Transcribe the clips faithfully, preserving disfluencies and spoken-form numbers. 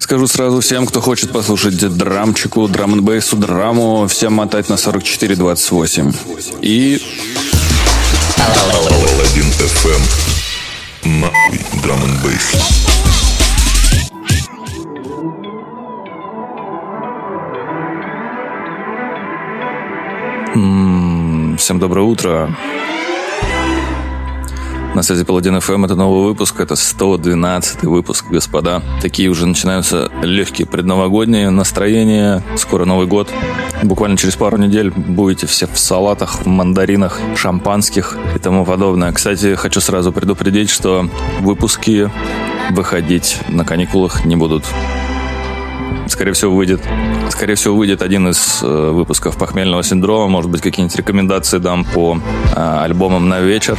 Скажу сразу всем, кто хочет послушать драмчику, драм-н-бейсу, драму, всем мотать на сорок четыре двадцать восемь. И... Паладин эф эм. Нахуй драм-н-бейс. Всем доброе утро. На связи Паладин эф эм, это новый выпуск, это сто двенадцатый выпуск, господа. Такие уже начинаются легкие предновогодние настроения, скоро Новый год. Буквально через пару недель будете все в салатах, в мандаринах, шампанских и тому подобное. Кстати, хочу сразу предупредить, что выпуски выходить на каникулах не будут. Скорее всего, выйдет, скорее всего, выйдет один из э, выпусков «Похмельного синдрома». Может быть, какие-нибудь рекомендации дам по э, альбомам на вечер.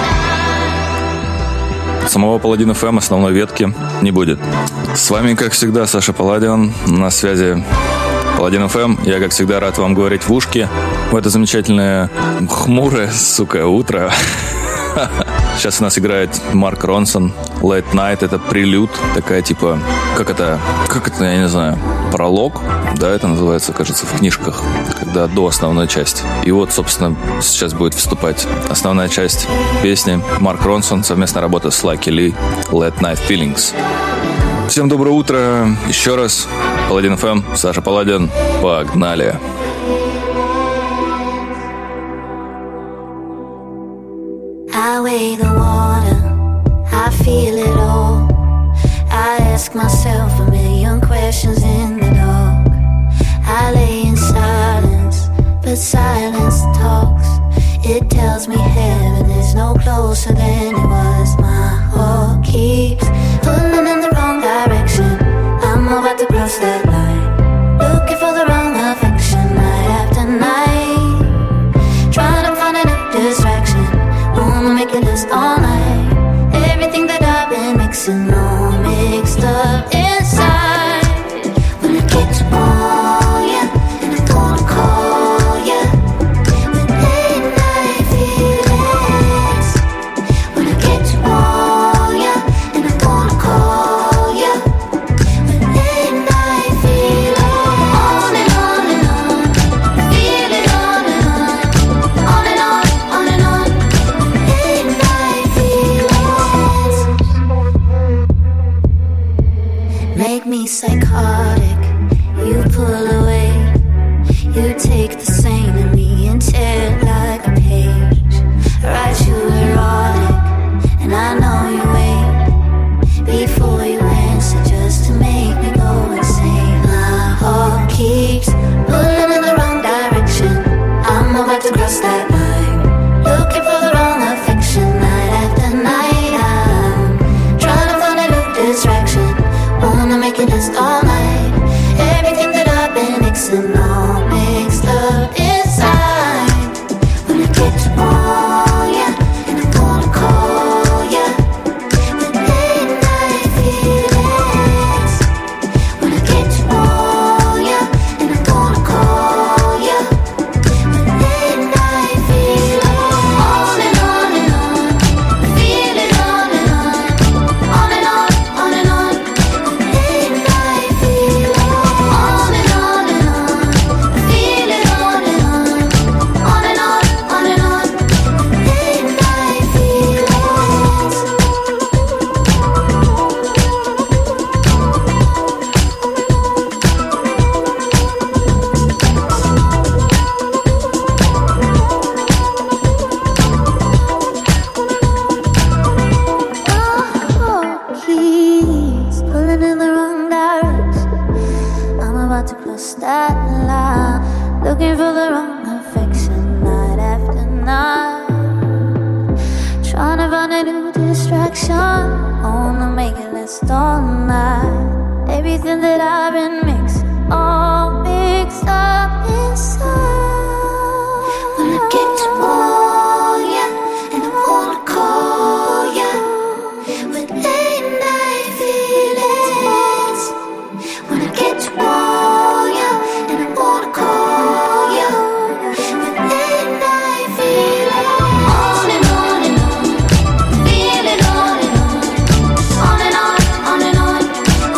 Самого Паладин эф эм основной ветки не будет. С вами, как всегда, Саша Паладин. На связи Паладин эф эм. Я, как всегда, рад вам говорить в ушки в это замечательное хмурое, сука, утро. Сейчас у нас играет Марк Ронсон. Late Night, это прелюд. Такая типа, как это, как это, я не знаю, пролог, да, это называется, кажется, в книжках, когда до основной части. И вот, собственно, сейчас будет вступать основная часть песни. Марк Ронсон, совместная работа с Lucky Lee, Late Night Feelings. Всем доброе утро. Еще раз. Паладин эф эм, Саша Паладин. Погнали. I weigh the water, I feel it all. I ask myself a million questions in the dark. I lay in silence, but silence talks. It tells me heaven is no closer than it was. My heart keeps pulling in the wrong direction. I'm about to cross that line, looking for the wrong affection night after night, trying to find a new distraction. Wanna make it last all night. Everything that I've been mixing all mixed up inside. When I get to call ya, and I'm gonna call ya with late night feelings. When I get to call ya, and I'm gonna call ya with late night feelings. On and on and on, feel it on and on, on and on, on and on. Make me psychotic, you pull away. You take the same in me and tear it like a page. Write you erotic, and I know you wait before you answer just to make me go insane. My heart keeps pulling in the wrong direction. I'm about to cross that line, looking for the wrong affection night after night. I'm trying to find a new distraction. Wanna make it last all night. Everything that I've been mixing all mixed up inside. When I get to call ya, and I'm gonna call ya with late night feelings. When I get to call ya, and I'm gonna call ya with late night feelings. On and on and on, feel it on and on, on and on, on and on. Looking for the wrong affection night after night, trying to find a new distraction. Wanna make it last all night. Everything that I've been mixing all mixed up inside. When I get to call ya, and I wanna call ya with late night feelings. When I get to call ya, and I wanna call ya with late night feelings. On and on and on, feel it on and on, on and on, on and on.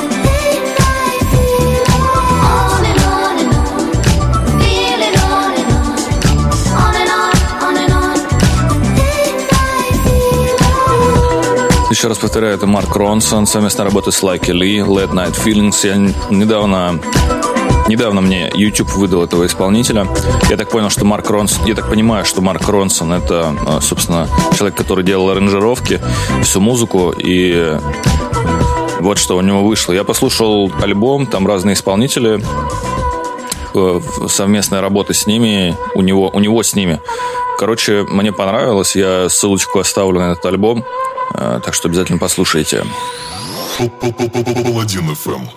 еще раз повторяю, это Марк Ронсон, совместная работа с Лайки Ли, Late Night Feelings. Я недавно, недавно мне YouTube выдал этого исполнителя. Я так понял, что Марк Ронсон, я так понимаю, что Марк Ронсон это, собственно, человек, который делал аранжировки, всю музыку, и вот что у него вышло. Я послушал альбом, там разные исполнители, совместная работа с ними, у него, у него с ними. Короче, мне понравилось, я ссылочку оставлю на этот альбом, так что обязательно послушайте. Паладин эф эм.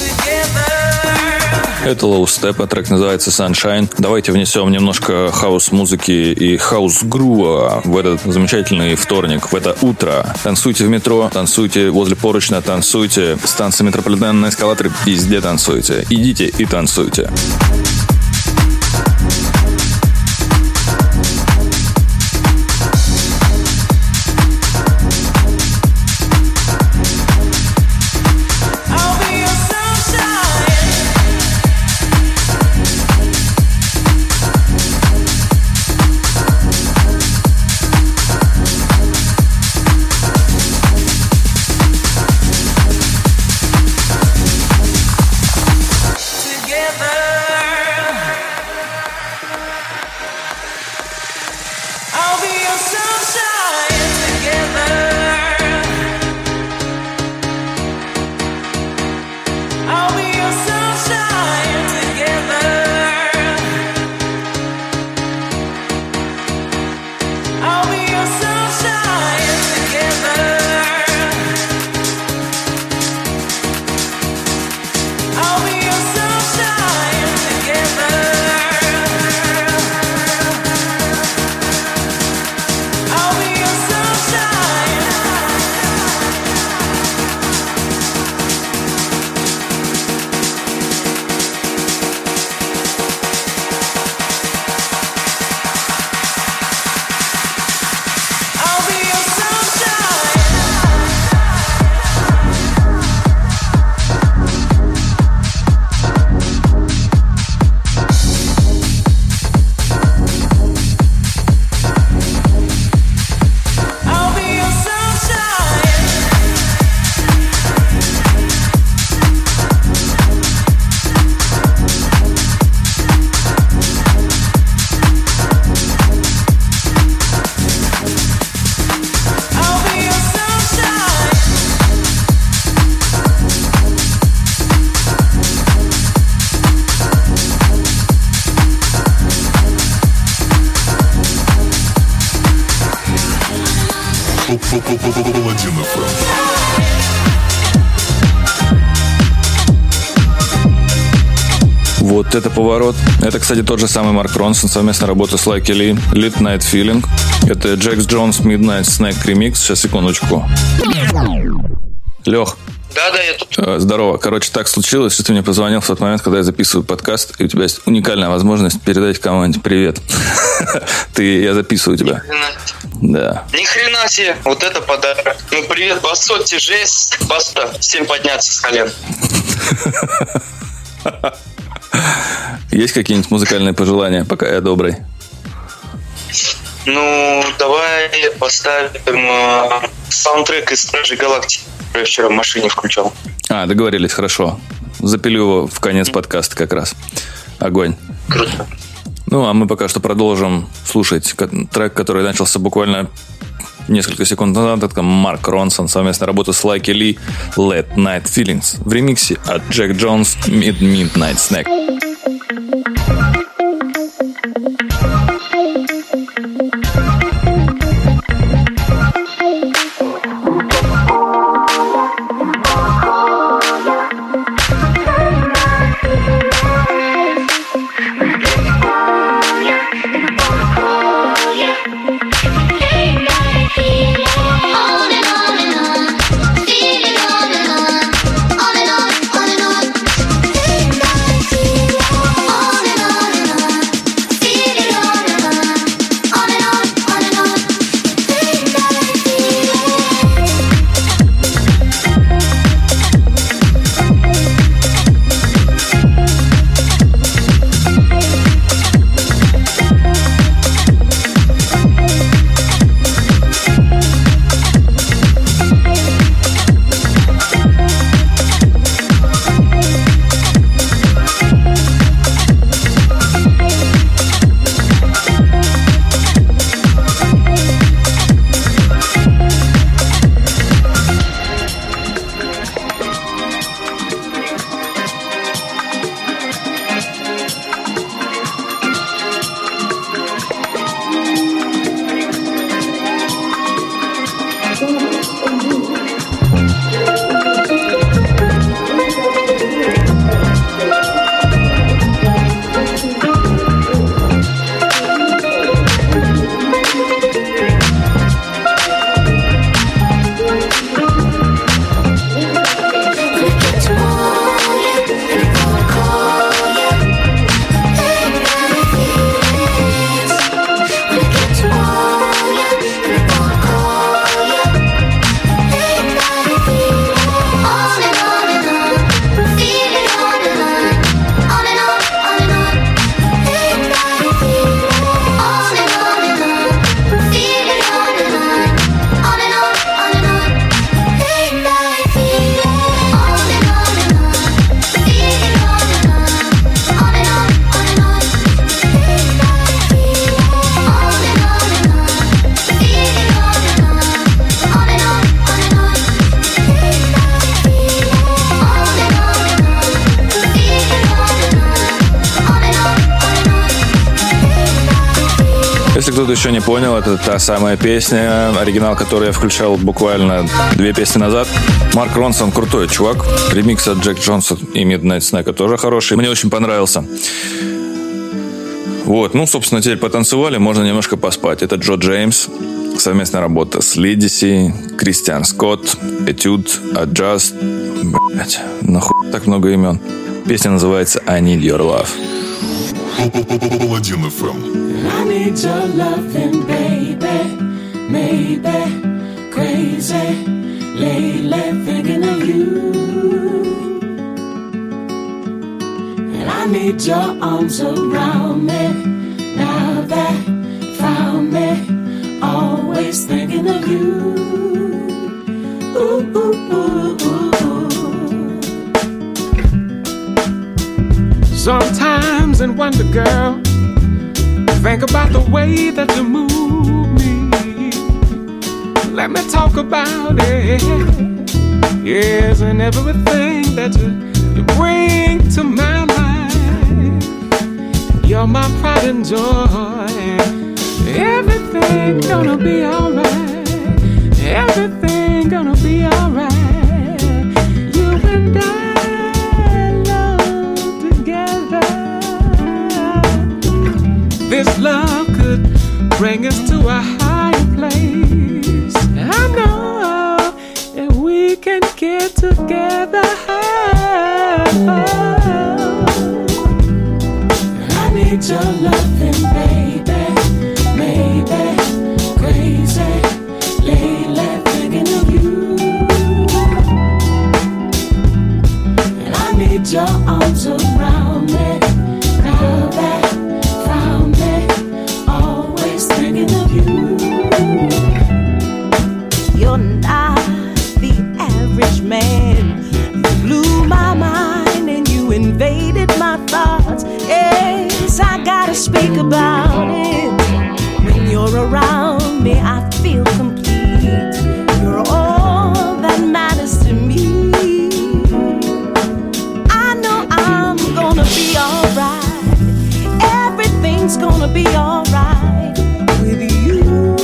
Это Low Step, трек называется Sunshine. Давайте внесем немножко хаус-музыки и хаус-грува в этот замечательный вторник, в это утро. Танцуйте в метро, танцуйте возле поручня, танцуйте. Станция метрополитена на эскалаторе, везде танцуйте. Идите и танцуйте. Паладин эф эм. Вот это поворот. Это, кстати, тот же самый Марк Ронсон, совместная работа с Лайки Ли, Late Night Feeling. Это Джекс Джонс Midnight Snack Remix. Сейчас, секундочку. Лех. Да-да, я тут. Здорово. Короче, так случилось, что ты мне позвонил в тот момент, когда я записываю подкаст, и у тебя есть уникальная возможность передать кому-нибудь привет. Ты, я записываю тебя. Да. Ни хрена себе, вот это подарок. Ну, привет, Басотти, жесть, баста, всем подняться с колен. Есть какие-нибудь музыкальные пожелания, пока я добрый? Ну, давай поставим э, саундтрек из Стражей Галактики, который я вчера в машине включал. А, договорились, хорошо. Запилю его в конец подкаста как раз. Огонь. Круто. Ну, а мы пока что продолжим слушать трек, который начался буквально несколько секунд назад. Это Марк Ронсон, совместная работа с Лайки Ли, Late Night Feelings в ремиксе от Джек Джонс Midnight Snack. On and on, on and on, on and on. Если кто-то еще не понял, это та самая песня, оригинал, который я включал буквально две песни назад. Марк Ронсон крутой чувак. Ремикс от Джек Джонса и Midnight Snack тоже хороший. Мне очень понравился. Вот, ну, собственно, теперь потанцевали, можно немножко поспать. Это Джо Джеймс. Совместная работа с Лидиси, Кристиан Скотт, Этюд, Adjust. Блять, нахуй так много имен. Песня называется I Need Your Love. Паладин эф эм. I need your loving, baby, maybe crazy, lately thinking of you. And I need your arms around me, now that found me, always thinking of you. Ooh, ooh, ooh, ooh. Sometimes in wonder, girl, think about the way that you move me. Let me talk about it. Yes, and everything that you, you bring to my life. You're my pride and joy. Everything gonna be alright. Everything gonna be alright. You and I love together. This love could bring us to a higher place. I know that we can get together. I need your loving, baby, maybe crazy, lately thinking of you. And I need your arms around me, now that found me, always thinking of you. You're not the average man. You blew my mind and you invaded my thoughts. Yes, I gotta speak about it. When you're around me, I feel complete. You're all that matters to me. I know I'm gonna be alright. Everything's gonna be alright with you,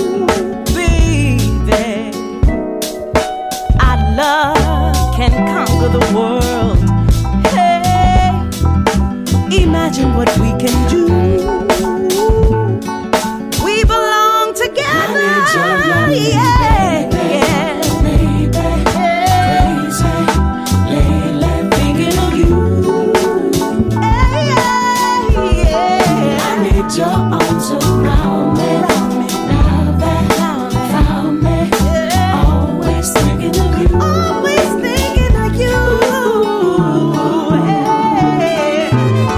baby. Our love can conquer the world. Hey, imagine what we can do. We belong together. I need your love, yeah, baby, yeah. maybe crazy, lately thinking of you. Hey, yeah, yeah. I need your arms around me, now that found me, always thinking of you. Always thinking of you. Hey.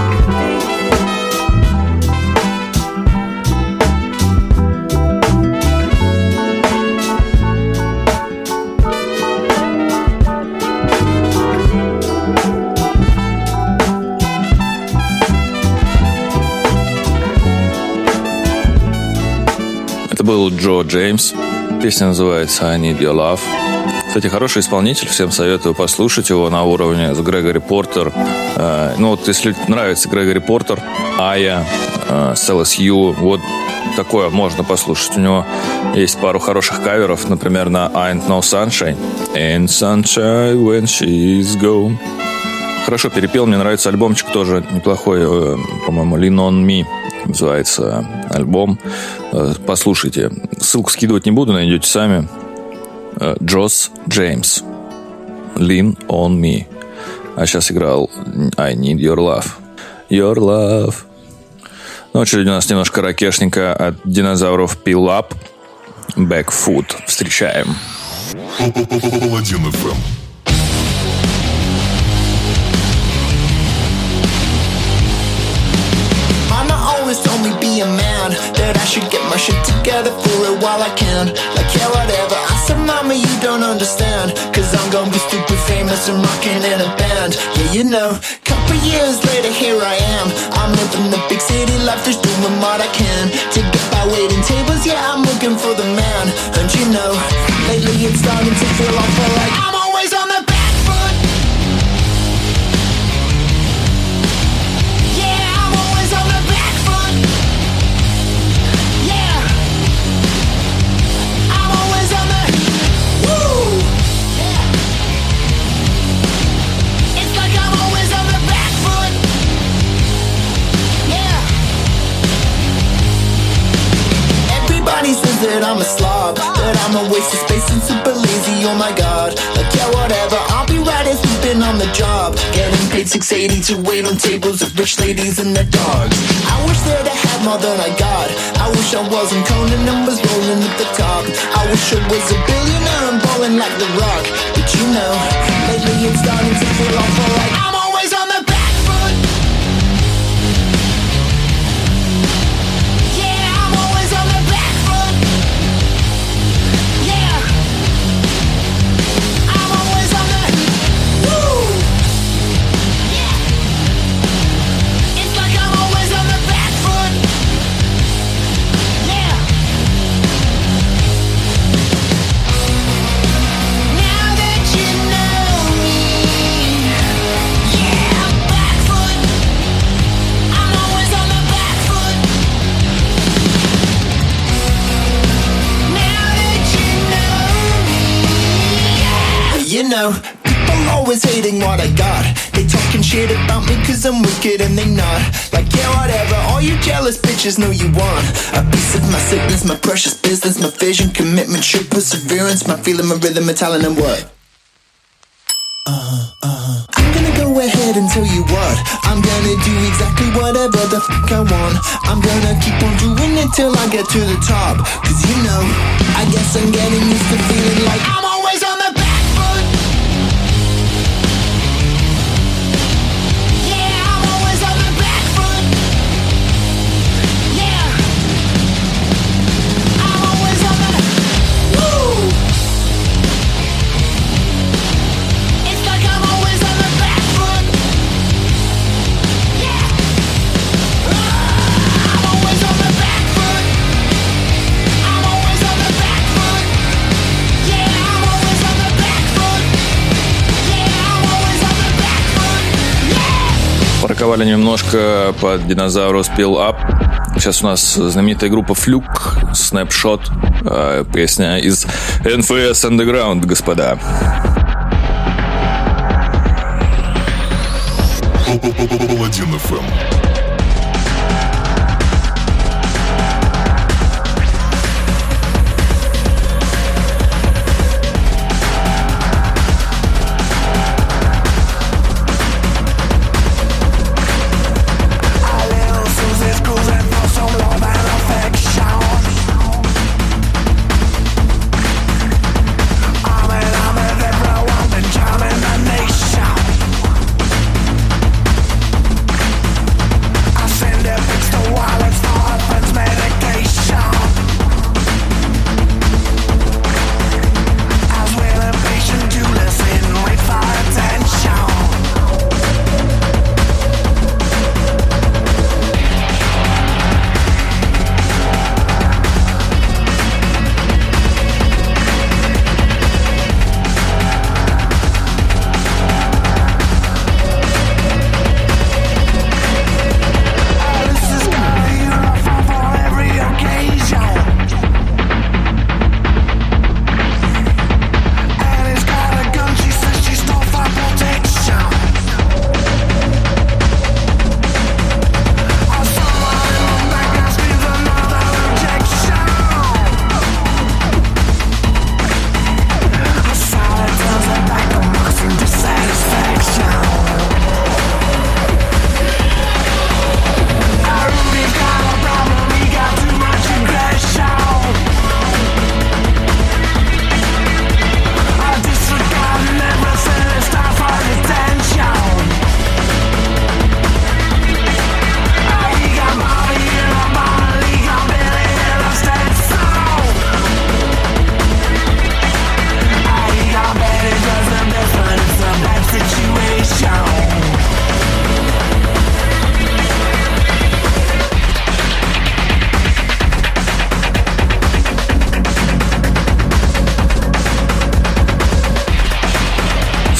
Это был Джо Джеймс. Песня называется I Need Your Love. Кстати, хороший исполнитель. Всем советую послушать его на уровне с Грегори Портер. Э, ну вот, если нравится Грегори Портер, Ая, э, Селес Ю, вот такое можно послушать. У него есть пару хороших каверов, например, на Ain't No Sunshine. Ain't sunshine when she's gone. Хорошо перепел, мне нравится альбомчик тоже неплохой, э, по-моему, Lean On Me называется альбом. Э, послушайте. Ссылку скидывать не буду, найдете сами. Э, Джос Джеймс. Lean On Me. А сейчас играл I Need Your Love. Your Love. Ну, очередь у нас немножко ракешника от динозавров Peel Up. Backfoot. Встречаем. Паладин эф эм. Told me be a man, that I should get my shit together for it while I can. Like yeah, whatever. I said, mama, you don't understand, cause I'm gonna be stupid famous and rocking in a band. Yeah, you know, couple years later here I am. I'm living the big city life, just doing what I can to get by waiting tables. Yeah, I'm looking for the man. And you know, lately it's starting to feel awful like I'm always on the back foot. Yeah, I'm always on the back foot. Yeah, waste of space and super lazy, oh my god. Like yeah, whatever, I'll be right as we've been on the job. Getting paid six eighty to wait on tables of rich ladies and their dogs. I wish that I had more than I got. I wish I wasn't counting numbers rolling at the top. I wish I was a billionaire and balling like The Rock. But you know, lately it's starting to feel awful like I'm always on the back foot. Yeah, I'm always on the back foot. Yeah, I'm always on the woo. Yeah, it's like I'm always on the back foot. Yeah. Now that you know me, yeah, back foot. I'm always on the back foot. Now that you know me, yeah. You know, people always hating what I got. They talking shit about me cause I'm wicked and they not. Like yeah, whatever, all you jealous bitches know you want a piece of my sickness, my precious business, my vision, commitment, true perseverance, my feeling, my rhythm, my talent and what? Uh-huh, uh-huh. I'm gonna go ahead and tell you what. I'm gonna do exactly whatever the fuck I want. I'm gonna keep on doing it till I get to the top. Cause you know, I guess I'm getting used to feeling like I'm always on the back foot. Yeah, I'm always on the back foot. Yeah, I'm always on the woo. It's like I'm always on the back foot. Yeah, I'm always on the back foot. I'm always on the back foot. Yeah, I'm always on the back foot. Yeah, I'm always on the back foot. Yeah. Пороковали немножко под Dinosaurus Peel Up. Сейчас у нас знаменитая группа Fluke, Snapshot, э, песня из эн эф эс Underground, господа. Паладин эф эм. Everyone been jamming the nation.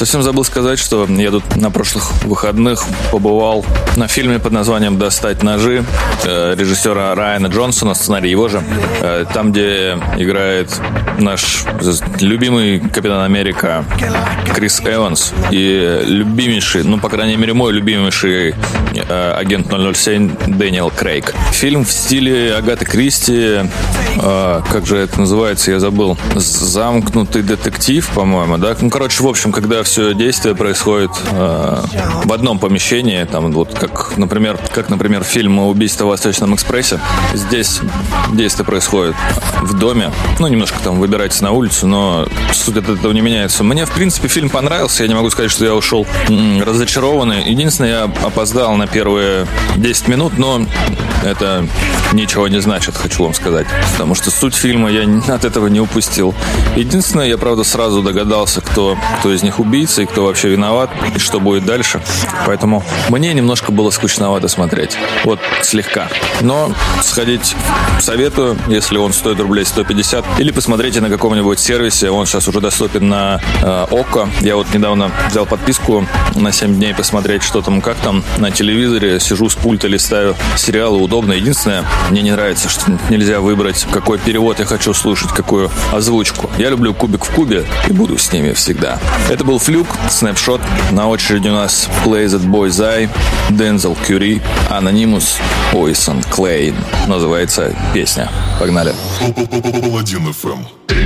Совсем забыл сказать, что я тут на прошлых выходных побывал на фильме под названием «Достать ножи» э, режиссера Райана Джонсона, сценарий его же. Э, там, где играет наш любимый Капитан Америка Крис Эванс и любимейший, ну, по крайней мере, мой любимейший э, агент ноль ноль семь Дэниел Крейг. Фильм в стиле Агаты Кристи, э, как же это называется, я забыл, «Замкнутый детектив», по-моему, да? Ну, короче, в общем, когда все действие происходит э, в одном помещении, там вот как, например, как, например, фильм «Убийство в Восточном экспрессе». Здесь действие происходит в доме, ну, немножко там выбирается на улицу, но суть от этого не меняется. Мне, в принципе, фильм понравился, я не могу сказать, что я ушел м- разочарованный. Единственное, я опоздал на первые десять минут, но это ничего не значит, хочу вам сказать, потому что суть фильма я от этого не упустил. Единственное, я, правда, сразу догадался, кто, кто из них убийца и кто вообще виноват, и что будет дальше. Поэтому мне немножко было скучновато смотреть. Вот, слегка. Но сходить советую, если он стоит рублей сто пятьдесят, или посмотрите на каком-нибудь сервисе, он сейчас уже доступен на э, Окко. Я вот недавно взял подписку на семь дней посмотреть, что там, как там на телевизоре. Сижу с пульта, листаю сериалы, удобно. Единственное, мне не нравится, что нельзя выбрать, какой перевод я хочу слушать, какую озвучку. Я люблю «Кубик в кубе» и буду с ними всегда. Это был «Флюк», «Снапшот». На очереди у нас «Play That Boy's Eye», Дензел Кюри, Anonymous, Ойсон Клейн. Называется песня. Погнали. Паладин эф эм.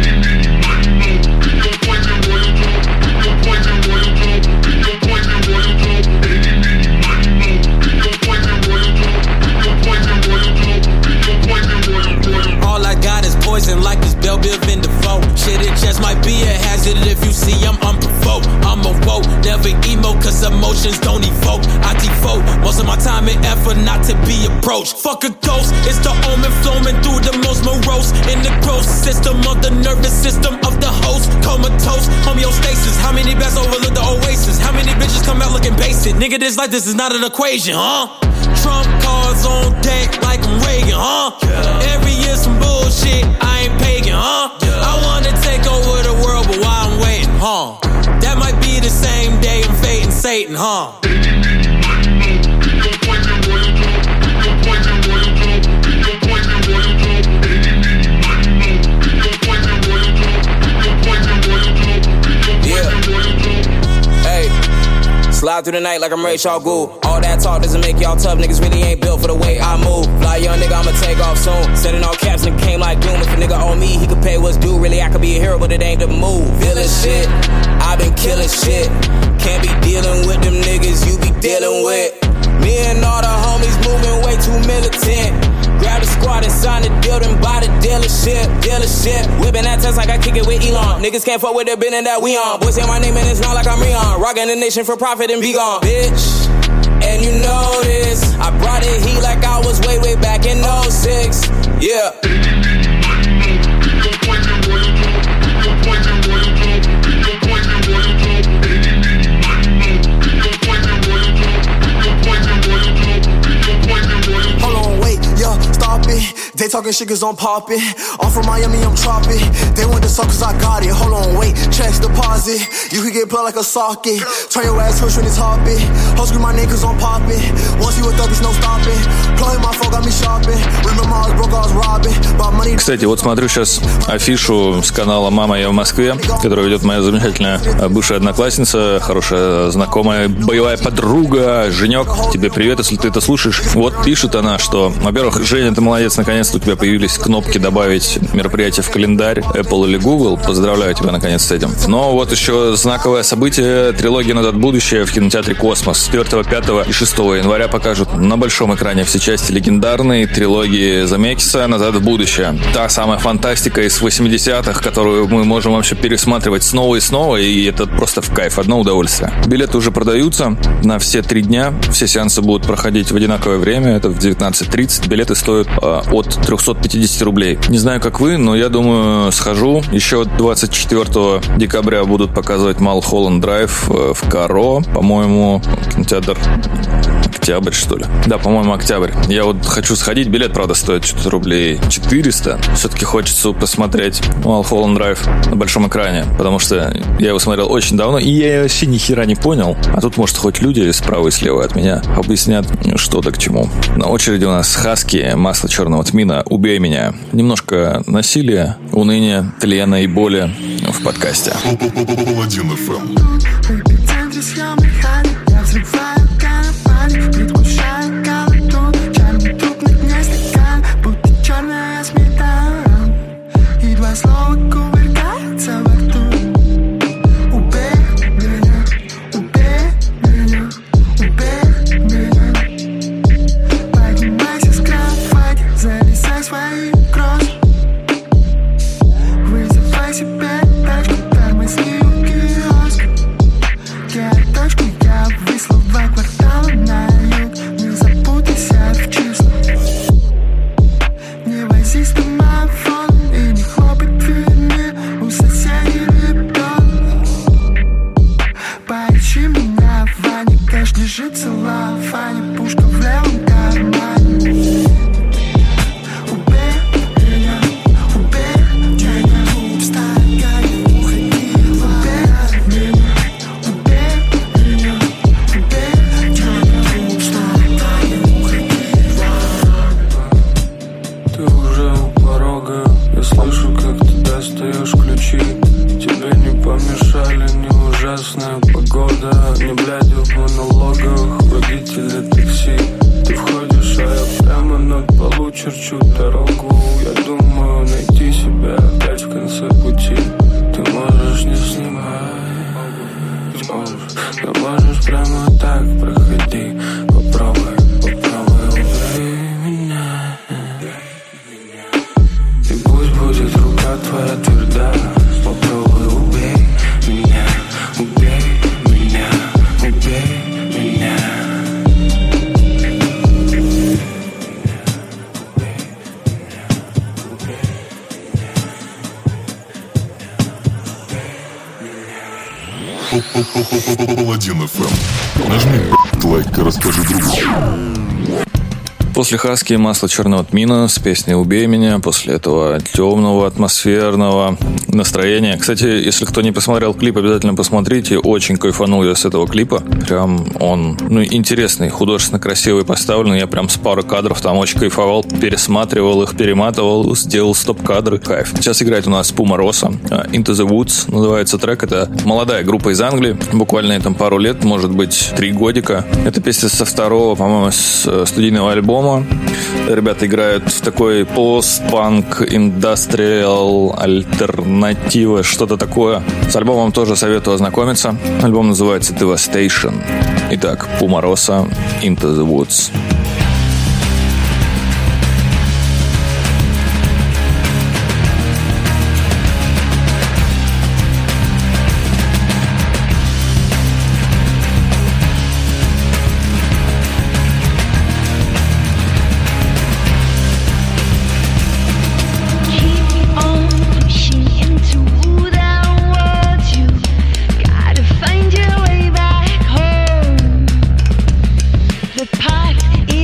Like this Bell Biv in the phone. Shit, it just might be a hazard if you see I'm unprovoked. I'm a woke, never emo, cause emotions don't evoke. I devote most of my time and effort not to be approached. Fuck a ghost, it's the omen flowing through the most morose. In the gross system of the nervous system of the host. Comatose, homeostasis. How many best overlook the oasis? How many bitches come out looking basic? Nigga, this like this is not an equation, huh? Trump cards on deck like I'm Reagan, huh? Yeah. Every year some bullshit, I ain't pagan, huh? Yeah. I wanna take over the world, but why I'm waiting, huh? That might be the same day I'm fading Satan, huh? Slide through the night like I'm Ray Shaw Gould. All that talk doesn't make y'all tough. Niggas really ain't built for the way I move. Fly young nigga, I'ma take off soon. Setting all caps, nigga came like doom. If a nigga owe me, he could pay what's due. Really, I could be a hero, but it ain't the move. Villain shit, I been killing shit. Can't be dealing with them niggas you be dealing with. Me and all the homies moving way too militant. Grab the squad and sign the deal, then buy the dealership, dealership. Whipping that test like I kick it with Elon. Niggas can't fuck with the business that we on. Boys say my name and it's not like I'm Rion. Rockin' the nation for profit and be gone, bitch. And you know this, I brought it heat like I was way, way back in oh six. Yeah. Hold on, wait, yeah, stop it. They talking shit cause I'm poppin'. I'm from Miami, I'm tropic. They want the suck cause I got it. Hold on, wait, checks deposit. You could get plugged like a socket. Turn your ass hush when it's hoppin'. Ho scream my name cause I'm poppin'. Once you a thug, there's no stopping. Plug in my phone, got me shopping. Remember I was broke, I was robbing. But money. Кстати, вот смотрю сейчас афишу с канала «Мама, я в Москве», которую ведет моя замечательная бывшая одноклассница, хорошая знакомая, боевая подруга. Женек, тебе привет, если ты это слушаешь. Вот пишет она, что, во-первых, Женя, ты молодец, наконец-то у тебя появились кнопки добавить мероприятие в календарь Apple или Google. Поздравляю тебя, наконец, с этим. Но вот еще знаковое событие. Трилогия «Назад в будущее» в кинотеатре «Космос». четвёртого, пятого и шестого января покажут на большом экране все части легендарной трилогии Земекиса «Назад в будущее». Та самая фантастика из восьмидесятых, которую мы можем вообще пересматривать снова и снова, и это просто в кайф, одно удовольствие. Билеты уже продаются на все три дня. Все сеансы будут проходить в одинаковое время. Это в девятнадцать тридцать. Билеты стоят э, от триста пятьдесят рублей. Не знаю, как вы, но я думаю, схожу. Еще двадцать четвёртого декабря будут показывать Малхолланд Драйв в Каро. По-моему, кинотеатр Октябрь, что ли? Да, по-моему, Октябрь. Я вот хочу сходить. Билет, правда, стоит что-то рублей четыреста. Все-таки хочется посмотреть Малхолланд Драйв на большом экране, потому что я его смотрел очень давно, и я вообще ни хера не понял. А тут, может, хоть люди справа и слева от меня объяснят, что да к чему. На очереди у нас Хаски, Масло черного тмина, Убей меня. Немножко насилия, уныния, тлена и боли в подкасте. Паладин эф эм. Предвкушаю голоту, черный труп на дне стакан, будто черная сметана, и два слова кувыркаются во рту. Убей меня, убей меня, убей меня. Поднимайся с кровати, залезай в свои кровь. Вызывай себе тачку, тормозни у киоска. Я точку, я высла два квартала на юг. Не запутайся в числах, не возись домофон и не хлопай дверьми у соседей ребенок. Поищи меня в ванне, кэш лежит целлофане, пушка в левом кармане. Убей меня, убей меня, встань, уходи, убей меня, убей меня, убей меня, встань, уходи. Ты уже у порога, я слышу, как ты достаешь ключи. Тебе не помешали ни ужасная погода, ни бляди в монологах водителя такси. Ты входишь, а я прямо над полу черчу дорогу. Я думаю найти себя опять в конце пути. Ты можешь не снимать, ты можешь прямо так проходи. Попробуй, попробуй, убей меня. И пусть будет рука твоя тверда. Попробуй, убей меня, убей меня, убей меня. Паладин эф эм. Нажми лайк и расскажи другу. После Хаски Масло черного тмина с песней «Убей меня», после этого темного, атмосферного настроения. Кстати, если кто не посмотрел клип, обязательно посмотрите. Очень кайфанул я с этого клипа. Прям он, ну, интересный, художественно красивый, поставленный. Я прям с пары кадров там очень кайфовал, пересматривал их, перематывал, сделал стоп-кадры. Кайф. Сейчас играет у нас Пума Росса. Into the Woods называется трек. Это молодая группа из Англии. Буквально ей там пару лет, может быть, три годика. Это песня со второго, по-моему, с студийного альбома. Ребята играют в такой пост-панк, индастриал, альтернатива, что-то такое. С альбомом тоже советую ознакомиться. Альбом называется Devastation. Итак, Пума Росса, Into the Woods. Pot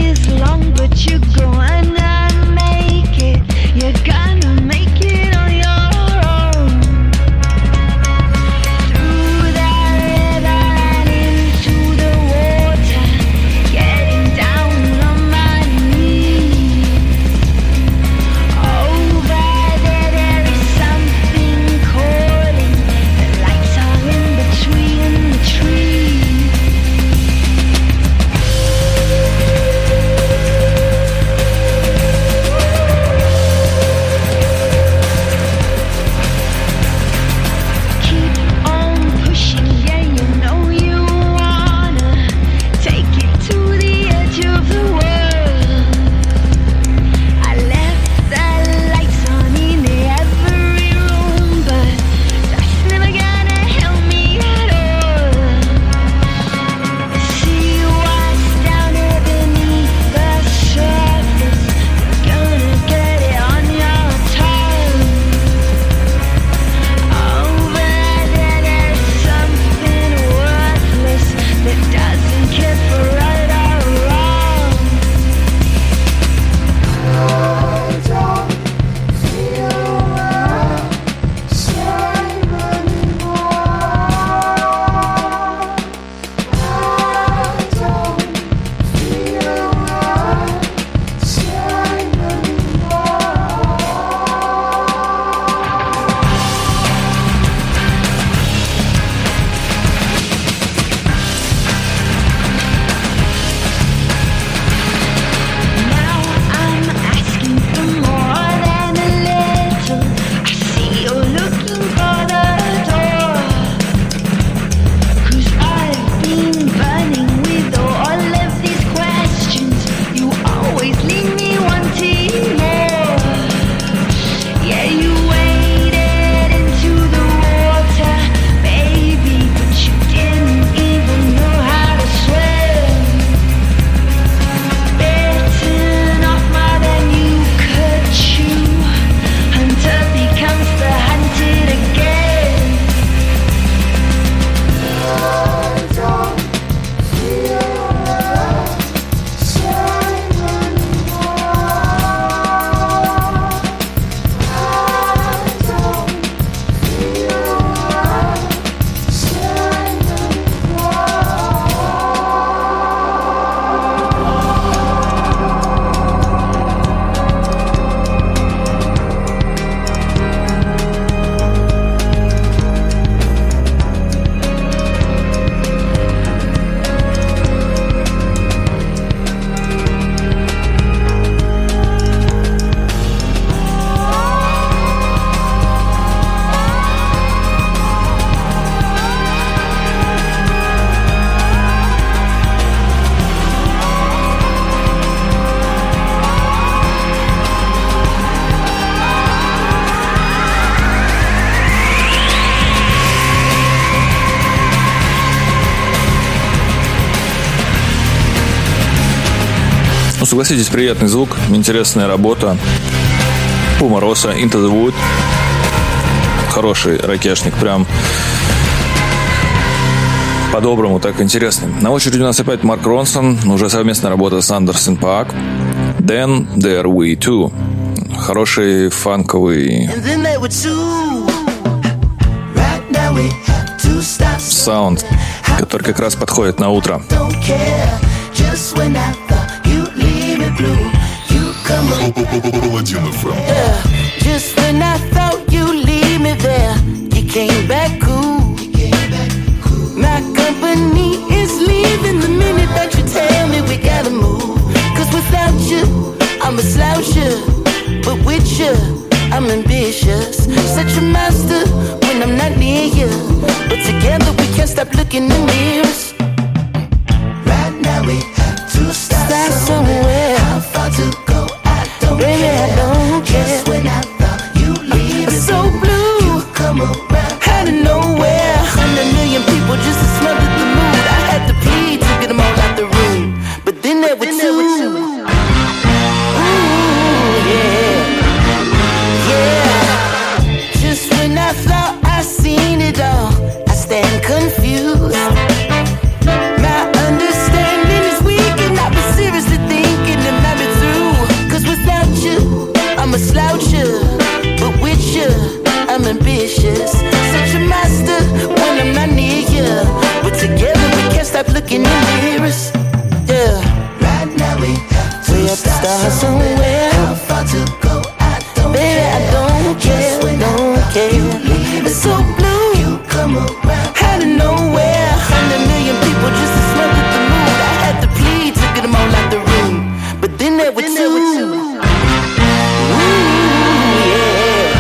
согласитесь, приятный звук, интересная работа. Пума Росса, Into the Wood. Хороший ракешник, прям по-доброму, так интересный. На очереди у нас опять Марк Ронсон, уже совместная работа с Андерсон Паак. Then There We Two. Хороший фанковый саунд, который как раз подходит на утро. Паладин эф эм. Just when I thought you leave me there, you came back cool. My company is leaving the minute that you tell me we gotta move. Cause without you, I'm a sloucher, but with you, I'm ambitious. Such a master when I'm not near you, but together we can't stop looking in mirrors. Right now we have to start, start somewhere. How far to go? I don't Baby, care. I don't care. Just when I thought you leave me so blue, you come around out of nowhere. Hundred million people just to smother the mood. I had to plead to get them all out the room, but then there were two. Ooh, yeah, yeah. Just when I thought I seen it all, I stand confused. My understanding is weak, and I've been seriously thinking it might be through. Cause without you, I'm a sloucher, but with you, I'm ambitious. Such a master when I'm not near you, but together we can't stop looking in mirrors. Yeah. Right now we have to, we have to start somewhere. How far to go? I don't Baby, care. I don't care, don't care. It's so blue. You come around out of nowhere. Hundred million people just to smother the mood. I had to plead to get them all out the room, but then there were two. Ooh, yeah,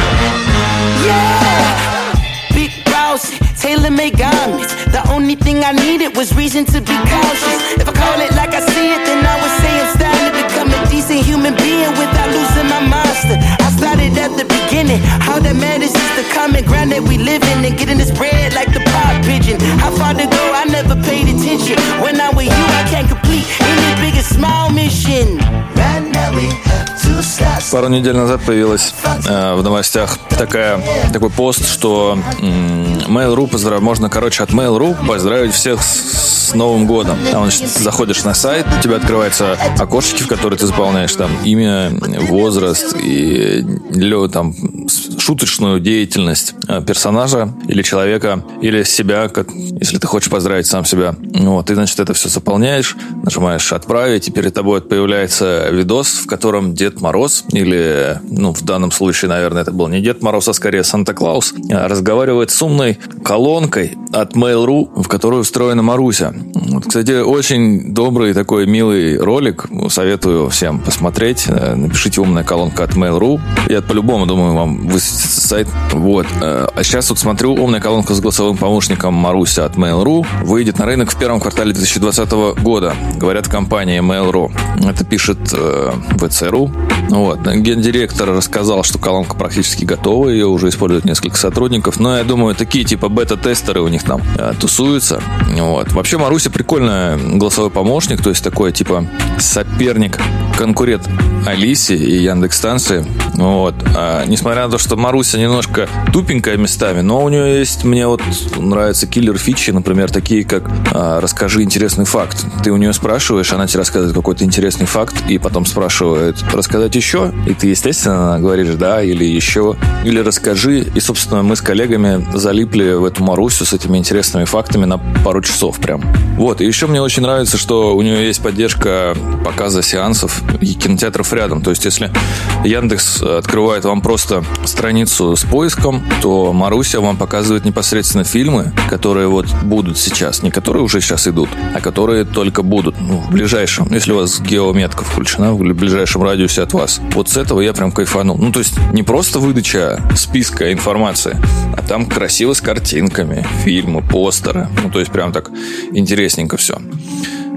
yeah. Big boss, tailor-made garments. The only thing I needed was reason to be cautious. If I call it like I see it, then I would say I'm starting to become a decent human being without losing my monster. I started at the beginning. All that matters is the common ground that we live in, and getting this bread like the pop pigeon. How far to go? I never paid attention. When I'm with you, I can't complete any big or small mission. Right now we have to start. Пару недель назад появилась э, в новостях такая, такой пост, что м- Mail.ru поздрав... можно, короче, от Mail.ru поздравить всех с, с Новым годом. Там, значит, заходишь на сайт, у тебя открываются окошечки, в которые ты заполняешь там имя, возраст и или, там шуточную деятельность персонажа или человека, или себя, как, если ты хочешь поздравить сам себя. Вот, ты, значит, это все заполняешь, нажимаешь «Отправить», и перед тобой появляется видос, в котором Дед Мороз, или, ну, в данном случае, наверное, это был не Дед Мороз, а скорее Санта-Клаус, разговаривает с умной колонкой от Mail.ru, в которую встроена Маруся. Вот, кстати, очень добрый такой милый ролик, советую всем посмотреть. Напишите «Умная колонка» от Mail.ru. Я по-любому, думаю, вам высветится сайт. Вот. А сейчас вот смотрю, умная колонка с голосовым помощником Маруся от Mail.ru выйдет на рынок в первом квартале две тысячи двадцатого года. Говорят в компании Mail.ru. Это пишет э, вэ цэ эр у. Вот. Гендиректор рассказал, что колонка практически готова. Ее уже используют несколько сотрудников. Но я думаю, такие типа бета-тестеры у них там э, тусуются. Вот. Вообще Маруся прикольный голосовой помощник. То есть такой типа соперник, конкурент Алисе и Яндекс.Станции. Вот. А, несмотря на то, что Маруся немножко тупенькая местами, но у нее есть, мне вот нравятся киллер-фичи, например, такие как а, «Расскажи интересный факт». Ты у нее спрашиваешь, она тебе рассказывает какой-то интересный факт, и потом спрашивает «Рассказать еще?» И ты, естественно, говоришь «да» или «еще», или «расскажи». И, собственно, мы с коллегами залипли в эту Марусю с этими интересными фактами на пару часов прям. Вот. И еще мне очень нравится, что у нее есть поддержка показа сеансов и кинотеатров рядом. То есть, если Яндекс открывает вам просто страницу с поиском, то Маруся вам показывает непосредственно фильмы, которые вот будут сейчас. Не которые уже сейчас идут, а которые только будут. Ну, в ближайшем. Если у вас геометка включена, в ближайшем радиусе от вас. Вот с этого я прям кайфанул. Ну, то есть, не просто выдача списка информации, а там красиво с картинками, фильмы, постеры. Ну, то есть, прям так интересненько все.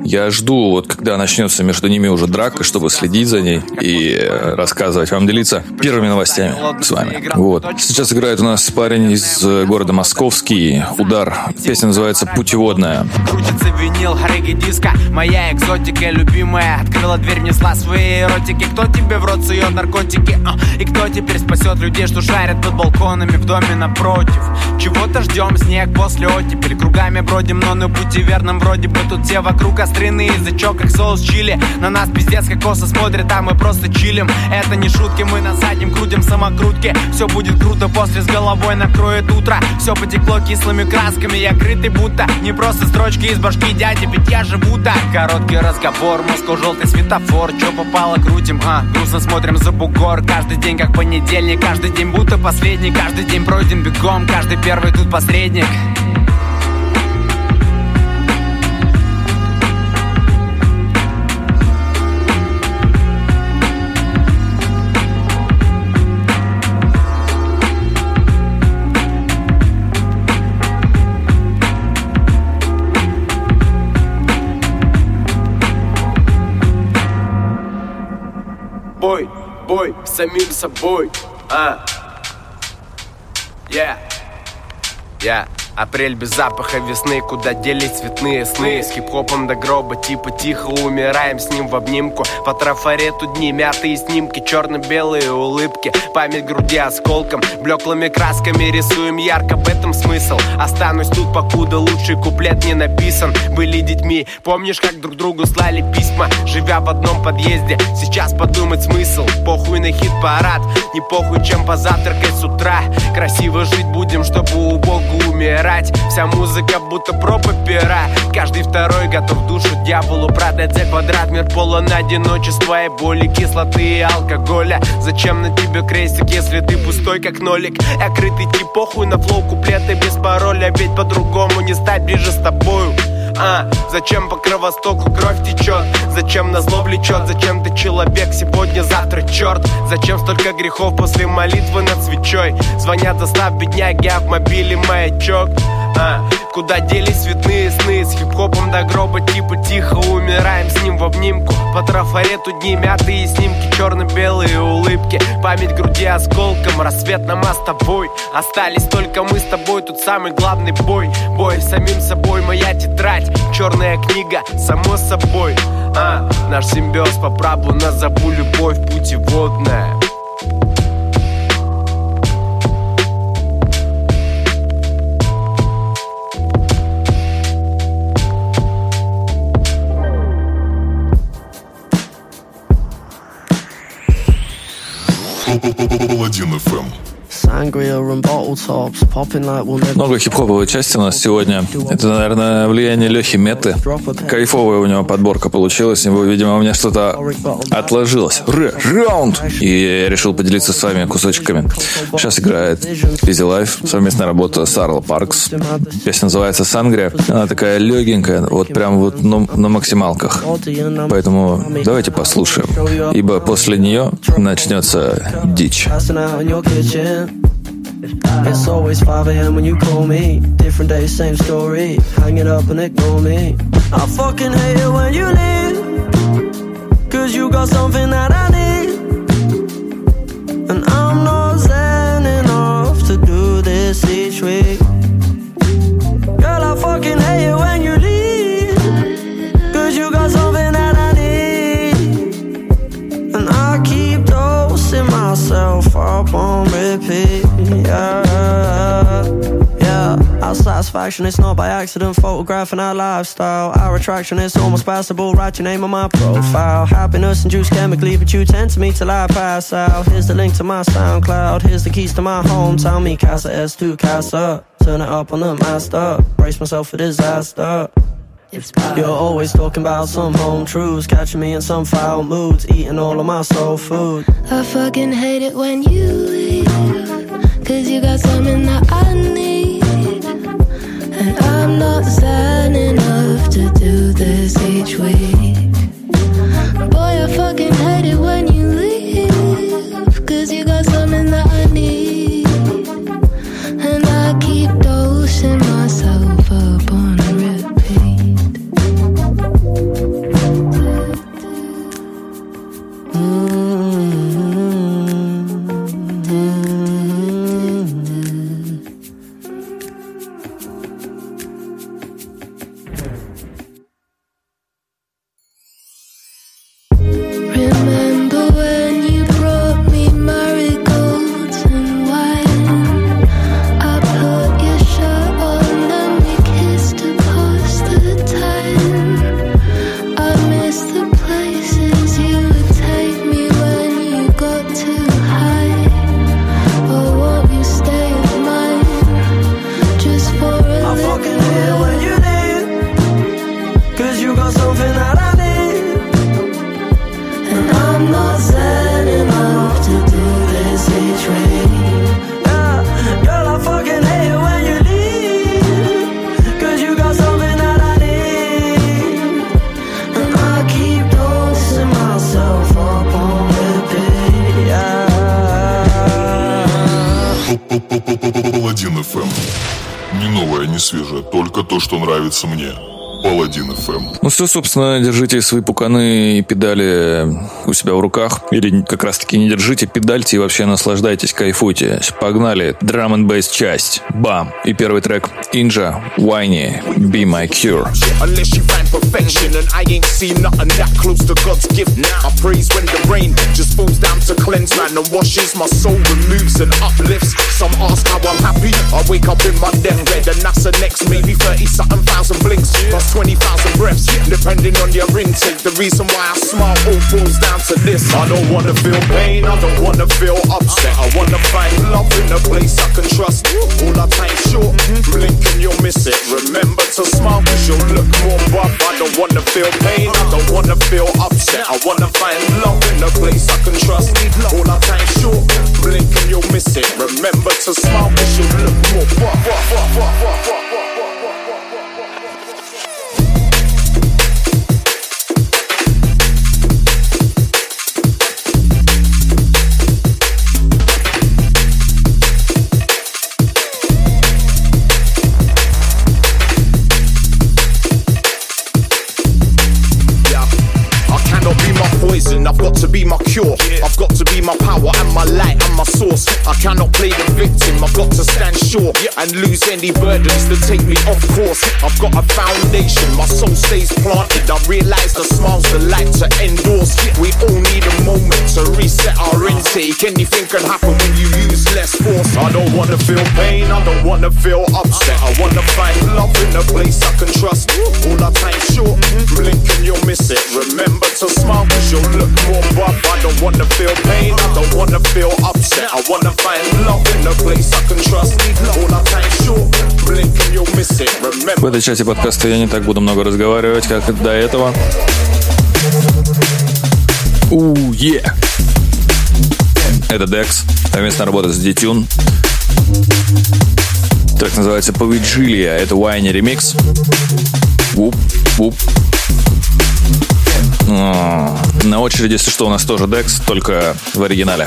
Я жду, вот когда начнется между ними уже драка, чтобы следить за ней и рассказывать вам, делиться первыми новостями с вами. Вот. Сейчас играет у нас парень из города Московский, Удар. Песня называется «Путеводная». Крутится винил, регги диска, моя экзотика любимая. Открыла дверь, внесла свои эротики. Кто тебе в рот сует наркотики? А? И кто теперь спасет людей, что шарят под балконами в доме напротив? Чего-то ждем, снег после оттепель. Кругами бродим, но на пути верном вроде бы. Тут все вокруг острины, язычок как соус чили. На нас пиздец как косо смотрят, а мы просто чилим. Это не шутки, мы на заднем крутим самокрутки. Все будет круто, после с головой накроет утро. Все потекло кислыми красками, я крытый будто не просто строчки из башки дяди, ведь я живу так. Короткий разговор, Москва желтый светофор. Че попало, крутим, а, грустно смотрим за бугор. Каждый день как понедельник, каждый день будто последний. Каждый день пройден бегом, каждый первый тут посредник. Бой, бой, самим собой, а, yeah, yeah. Апрель без запаха весны, куда делись цветные сны. С хип-хопом до гроба, типа тихо умираем с ним в обнимку. По трафарету дни, мятые снимки, черно-белые улыбки. Память груди осколком, блеклыми красками рисуем ярко, в этом смысл. Останусь тут, покуда лучший куплет не написан. Были детьми, помнишь, как друг другу слали письма, живя в одном подъезде? Сейчас подумать смысл, похуй на хит-парад, не похуй, чем позавтракать с утра. Красиво жить будем, чтобы убого умирать. Вся музыка будто проба пера. Каждый второй готов душу дьяволу продать за квадрат. Мир полон одиночества и боли, кислоты и алкоголя. Зачем на тебе крестик, если ты пустой как нолик? Я крытый тип, похуй на флоу, куплеты без пароля. Ведь по-другому не стать ближе с тобою. А, зачем по кровостоку кровь течет? Зачем назло влечет? Зачем ты человек сегодня, завтра черт? Зачем столько грехов после молитвы над свечой? Звонят, застав бедняги, а в мобиле маячок. А, куда делись цветные сны? С хип-хопом до гроба, типа тихо умираем с ним в обнимку. По трафарету дни, мятые снимки, черно-белые улыбки. Память груди осколком, рассвет на нас с тобой. Остались только мы с тобой, тут самый главный бой. Бой с самим собой, моя тетрадь, черная книга, само собой. А, наш симбиоз по праву назову любовь путеводная. Паладин эф эм. Много хип-хоповой части у нас сегодня. Это, наверное, влияние Лехи Метты. Кайфовая у него подборка получилась. Его, видимо, у меня что-то отложилось. Раунд! И я решил поделиться с вами кусочками. Сейчас играет Easy Life. Совместная работа с Arlo Parks. Песня называется «Сангрия». Она такая легенькая, вот прям вот на, на максималках. Поэтому давайте послушаем. Ибо после нее начнется дичь. It's always five a.m. when you call me. Different day, same story. Hang it up and ignore me. I fucking hate it when you leave, cause you got something that I need, and I'm not zen enough to do this each week. Girl, I fucking hate it when you leave, cause you got something that I need, and I keep dosing myself up on repeat. Yeah, yeah. Our satisfaction, it's not by accident. Photographing our lifestyle. Our attraction is almost passable. Write your name on my profile. Happiness induced chemically, but you tend to me till I pass out. Here's the link to my SoundCloud. Here's the keys to my hometown. Me, Casa S two, Casa. Turn it up on the master. Brace myself for disaster. You're always talking about some home truths, catching me in some foul moods, eating all of my soul food. I fucking hate it when you leave, cause you got something that I need, and I'm not zen enough to do this each week. Boy, I fucking hate it when you leave, cause you got something that I need, and I keep dosing myself up on repeat. Паладин эф эм. Не новое, не свежее, только то, что нравится мне. Паладин эф эм. Ну все, собственно, держите свои пуканы и педали у себя в руках. Или как раз таки не держите, педальте и вообще наслаждайтесь, кайфуйте. Погнали, драм энд бейс часть. Бам! И первый трек Inja, Whiny, Be My Cure. Unless you find perfection, and I ain't seen nothing that close to God's gift. I praise when the rain just falls down to cleanse, man, and washes my soul, removes and uplifts. Some ask how I'm happy. I wake up in my deathbed, and that's the next maybe thirty something thousand blinks. twenty thousand breaths, depending on your intake. The reason why I smile all boils down to this. I don't wanna feel pain, I don't wanna feel upset. I wanna find love in a place I can trust. All our time short, blink and you'll miss it. Remember to smile cause you'll look more buff. I don't wanna feel pain, I don't wanna feel upset. I wanna find love in a place I can trust. All our time short, blink and you'll miss it. Remember to smile cause you'll look more buff. buff, buff, buff, buff, buff. I've got to be my cure, I've got to be my power and my light and my source. I cannot play the victim, I've got to stand sure and lose any burdens that take me off course. I've got a foundation, my soul stays planted. I realise the smile's the light to endorse. We all need a moment to reset our intake. Anything can happen when you use less force. I don't wanna feel pain, I don't wanna feel upset. I wanna find love in a place I can trust. All our time short, blink and you'll miss it. Remember to smile cause you'll look more buff. I don't wanna feel pain, I don't wanna feel upset. I wanna find love in a place I can trust. All our time short, blink and you'll miss it. Remember. В этой части подкаста я не так буду много разговаривать, как до этого. Ууу, е! Это Dex, совместная работа с D-Tune. Трек называется Повиджилия, это Whiny ремикс. Вуп, вуп. На очереди, если что, у нас тоже Dex, только в оригинале.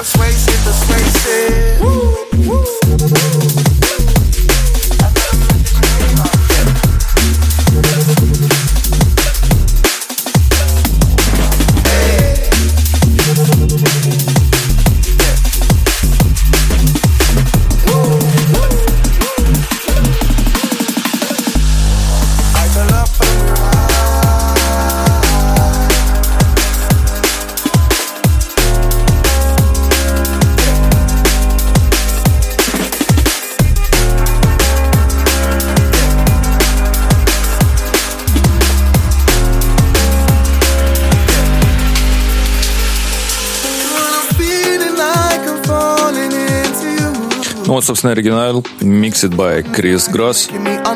Ну вот, собственно, оригинал Mixed by Chris Gross.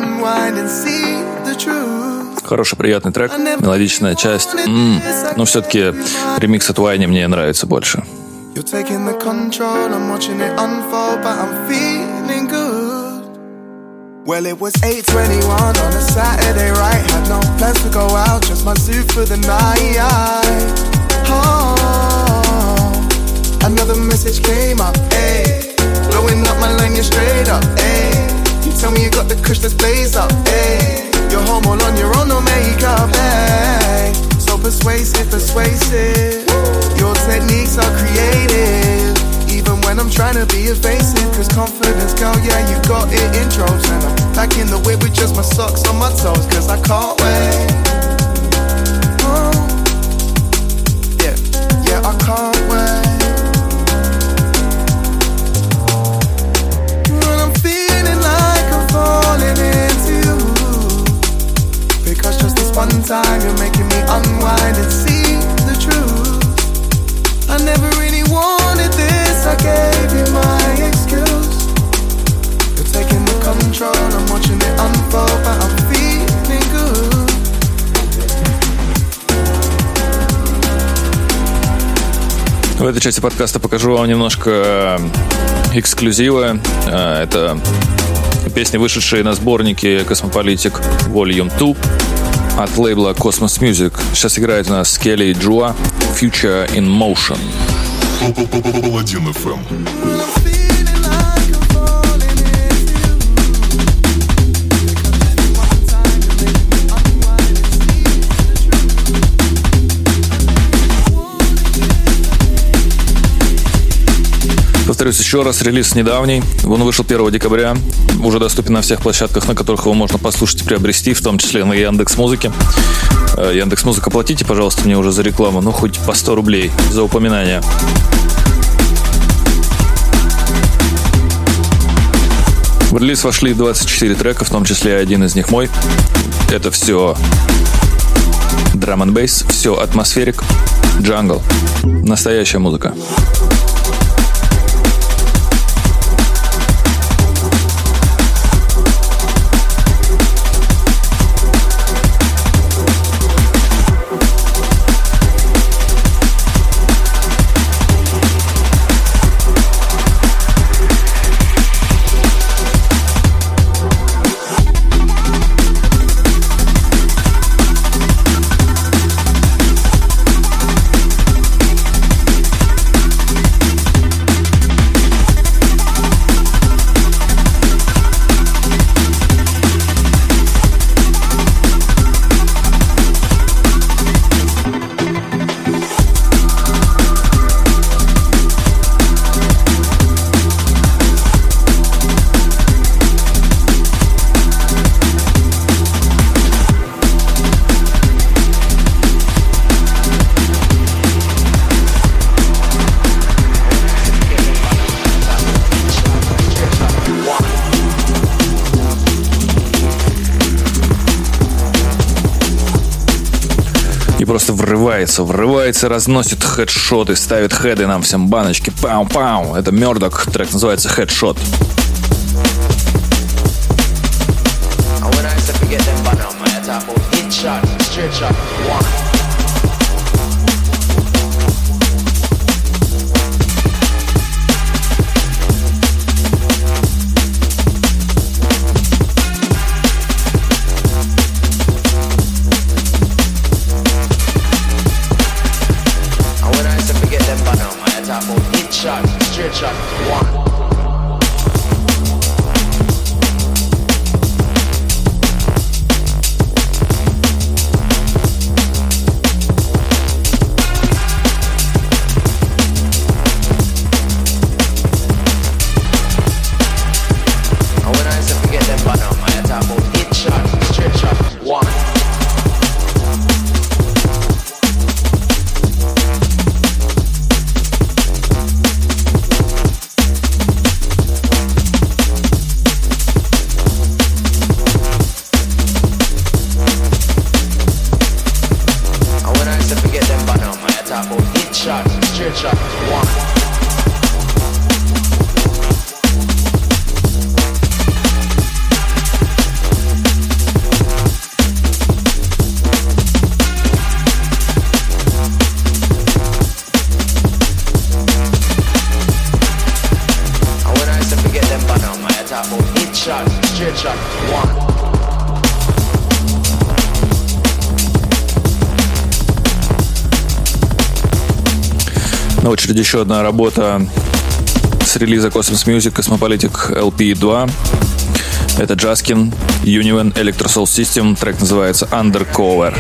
Хороший, приятный трек, мелодичная часть. М-м. Но все-таки ремикс от Whiny мне нравится больше. Well, it was eight twenty-one on a Saturday, right? Had no plans to go out, just my suit for the night. Oh, another message came up, ayy. Blowing up my line, you're straight up, ayy. You tell me you got the kush, let's blaze up, ayy. You're home all on your own, no makeup, ayy. So persuasive, persuasive. Your techniques are creative. Even when I'm trying to be evasive, cause confidence, girl, yeah, you got it in droves. And I'm back in the whip with just my socks on my toes, cause I can't wait. Oh, yeah, yeah, I can't wait. When I'm feeling like I'm falling into you, because just this one time you're making me unwind and see the truth. I never really wanted this, I gave you my excuse. You're taking the control, I'm watching it unfold, but I'm feeling good. В этой части подкаста покажу вам немножко эксклюзива. Это песни, вышедшие на сборнике Cosmopolitic Volume два от лейбла Cosmos Music. Сейчас играет у нас Келли и Джуа Future in Motion. Паладин эф эм. Повторюсь еще раз, релиз недавний. Он вышел первого декабря. Уже доступен на всех площадках, на которых его можно послушать и приобрести, в том числе на Яндекс.Музыке. Яндекс.Музыка, платите, пожалуйста, мне уже за рекламу, ну хоть по сто рублей за упоминание. В релиз вошли двадцать четыре трека, в том числе один из них мой. Это все драм энд бейс, все атмосферик, джангл. Настоящая музыка. Просто врывается, врывается, разносит хедшоты, ставит хеды нам всем баночки. Пау-пау. Это Murdoch, трек называется Headshot. На очереди еще одна работа с релиза Cosmos Music Cosmopolitic эл пи два. Это Jaskin, Union Electrosoul System. Трек называется Undercover.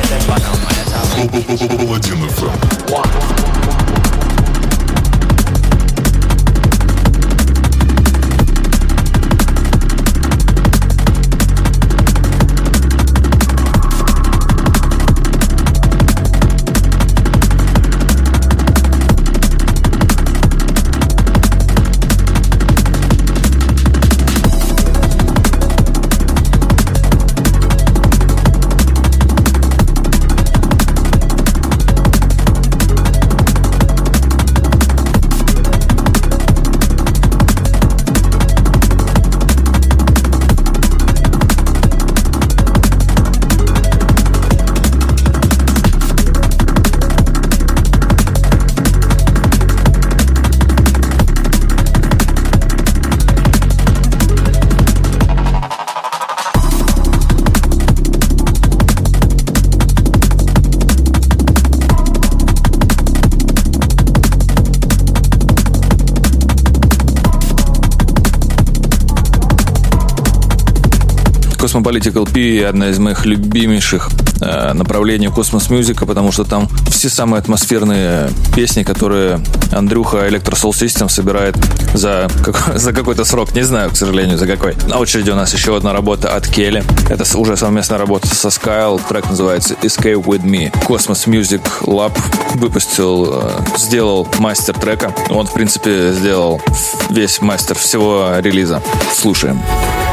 Cosmopolitical P одна из моих любимейших э, направлений космос-мюзика, потому что там все самые атмосферные песни, которые Андрюха Electro Soul System собирает за, как, за какой-то срок. Не знаю, к сожалению, за какой. На очереди у нас еще одна работа от Келли. Это уже совместная работа со Skyle. Трек называется Escape With Me. Cosmos Music Lab выпустил, э, сделал мастер трека. Он, в принципе, сделал весь мастер всего релиза. Слушаем.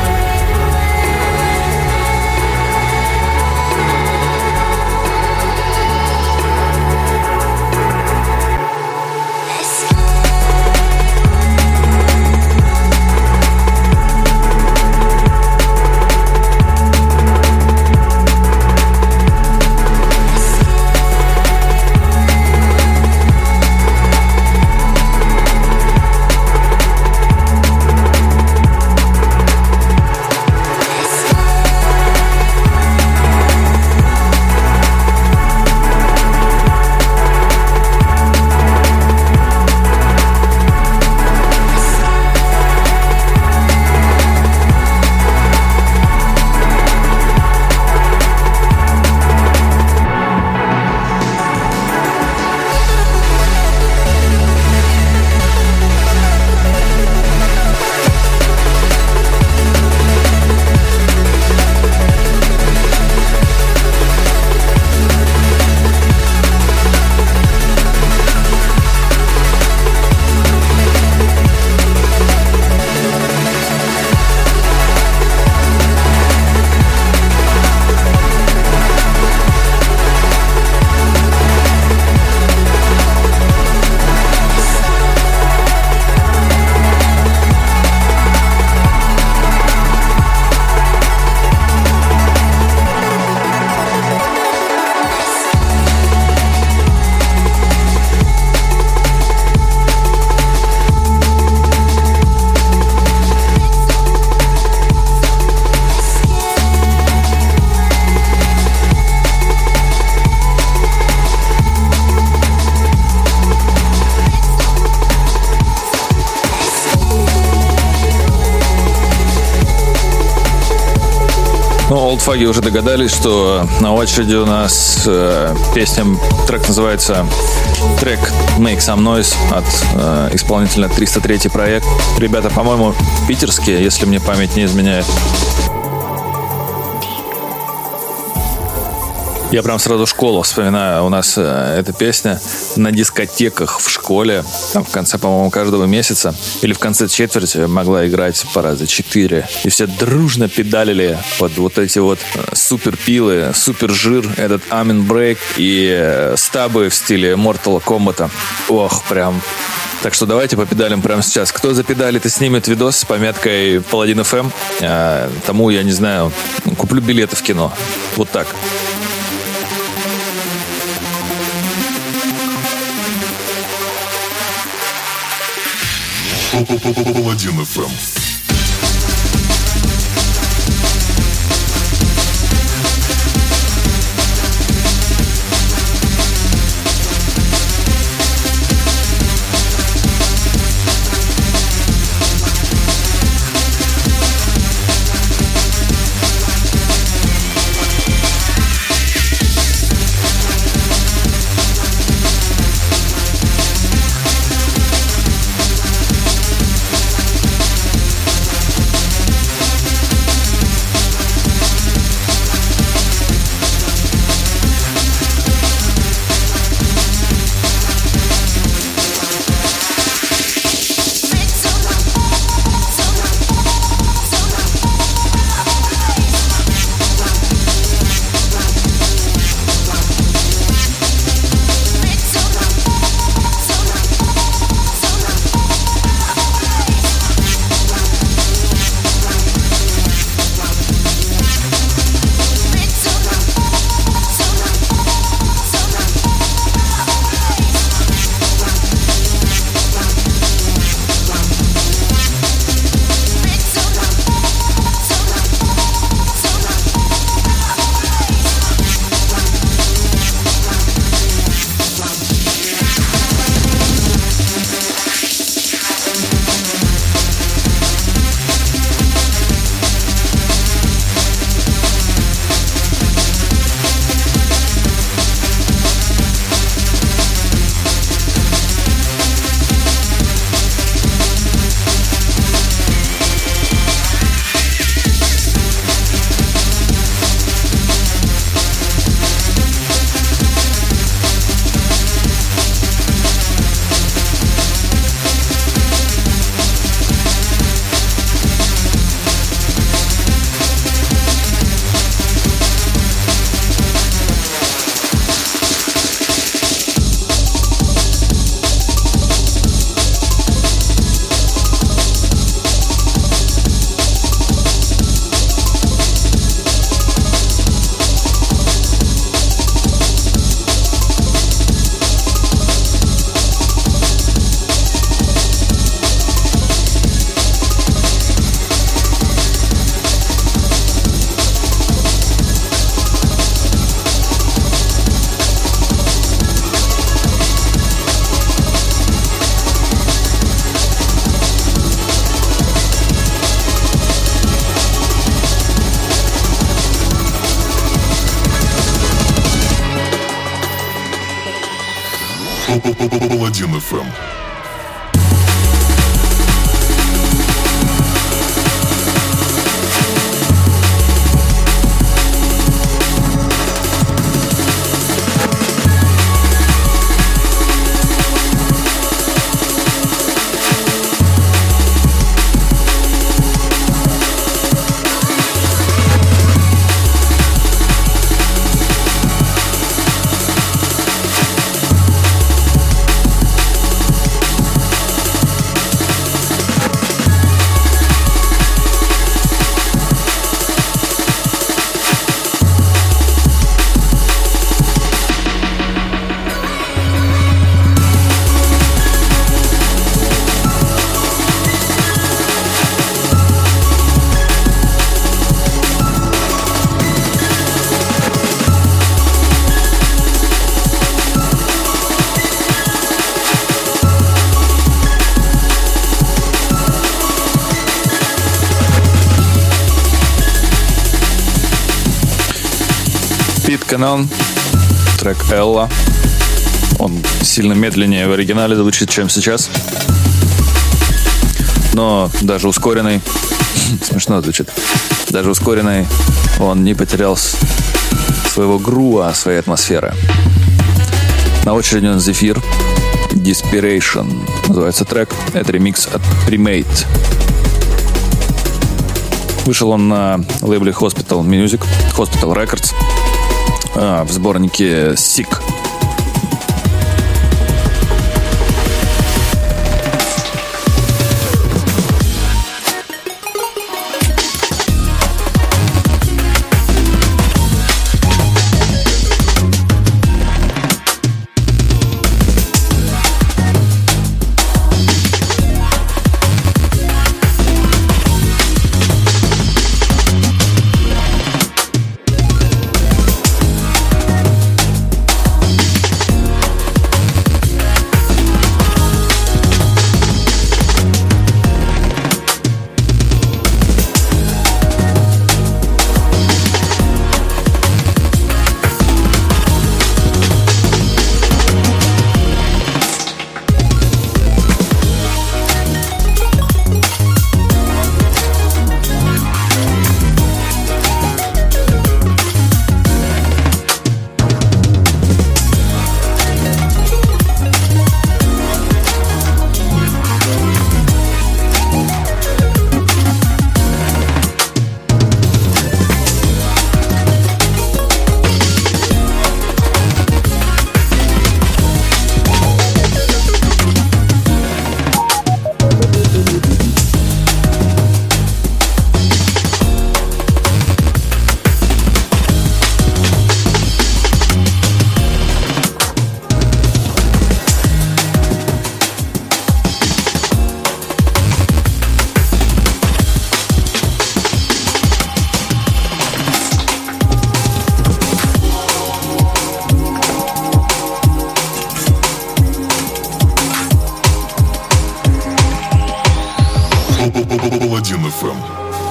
Ну, олдфаги уже догадались, что на очереди у нас э, песня, трек называется трек Make Some Noise от э, исполнителя триста третий проект. Ребята, по-моему, питерские, если мне память не изменяет. Я прям сразу школу вспоминаю. У нас э, эта песня на дискотеках в школе, там в конце, по-моему, каждого месяца или в конце четверти могла играть по раза четыре. И все дружно педалили под вот эти вот супер пилы, супер жир, этот Amen Break и э, стабы в стиле Mortal Kombat. Ох, прям. Так что давайте попедалим прямо сейчас. Кто запедалит и снимет видос с пометкой Паладин эф эм, э, тому, я не знаю, куплю билеты в кино. Вот так. Паладин эф эм. Паладин эф эм. Канон, трек Элла. Он сильно медленнее в оригинале звучит, чем сейчас. Но даже ускоренный, смешно звучит, даже ускоренный он не потерял своего грува, своей атмосферы. На очереди он Зефир, Desperation называется трек. Это ремикс от Premade. Вышел он на лейбле Hospital Music, Hospital Records. А, в сборнике Sick. Паладин эф эм.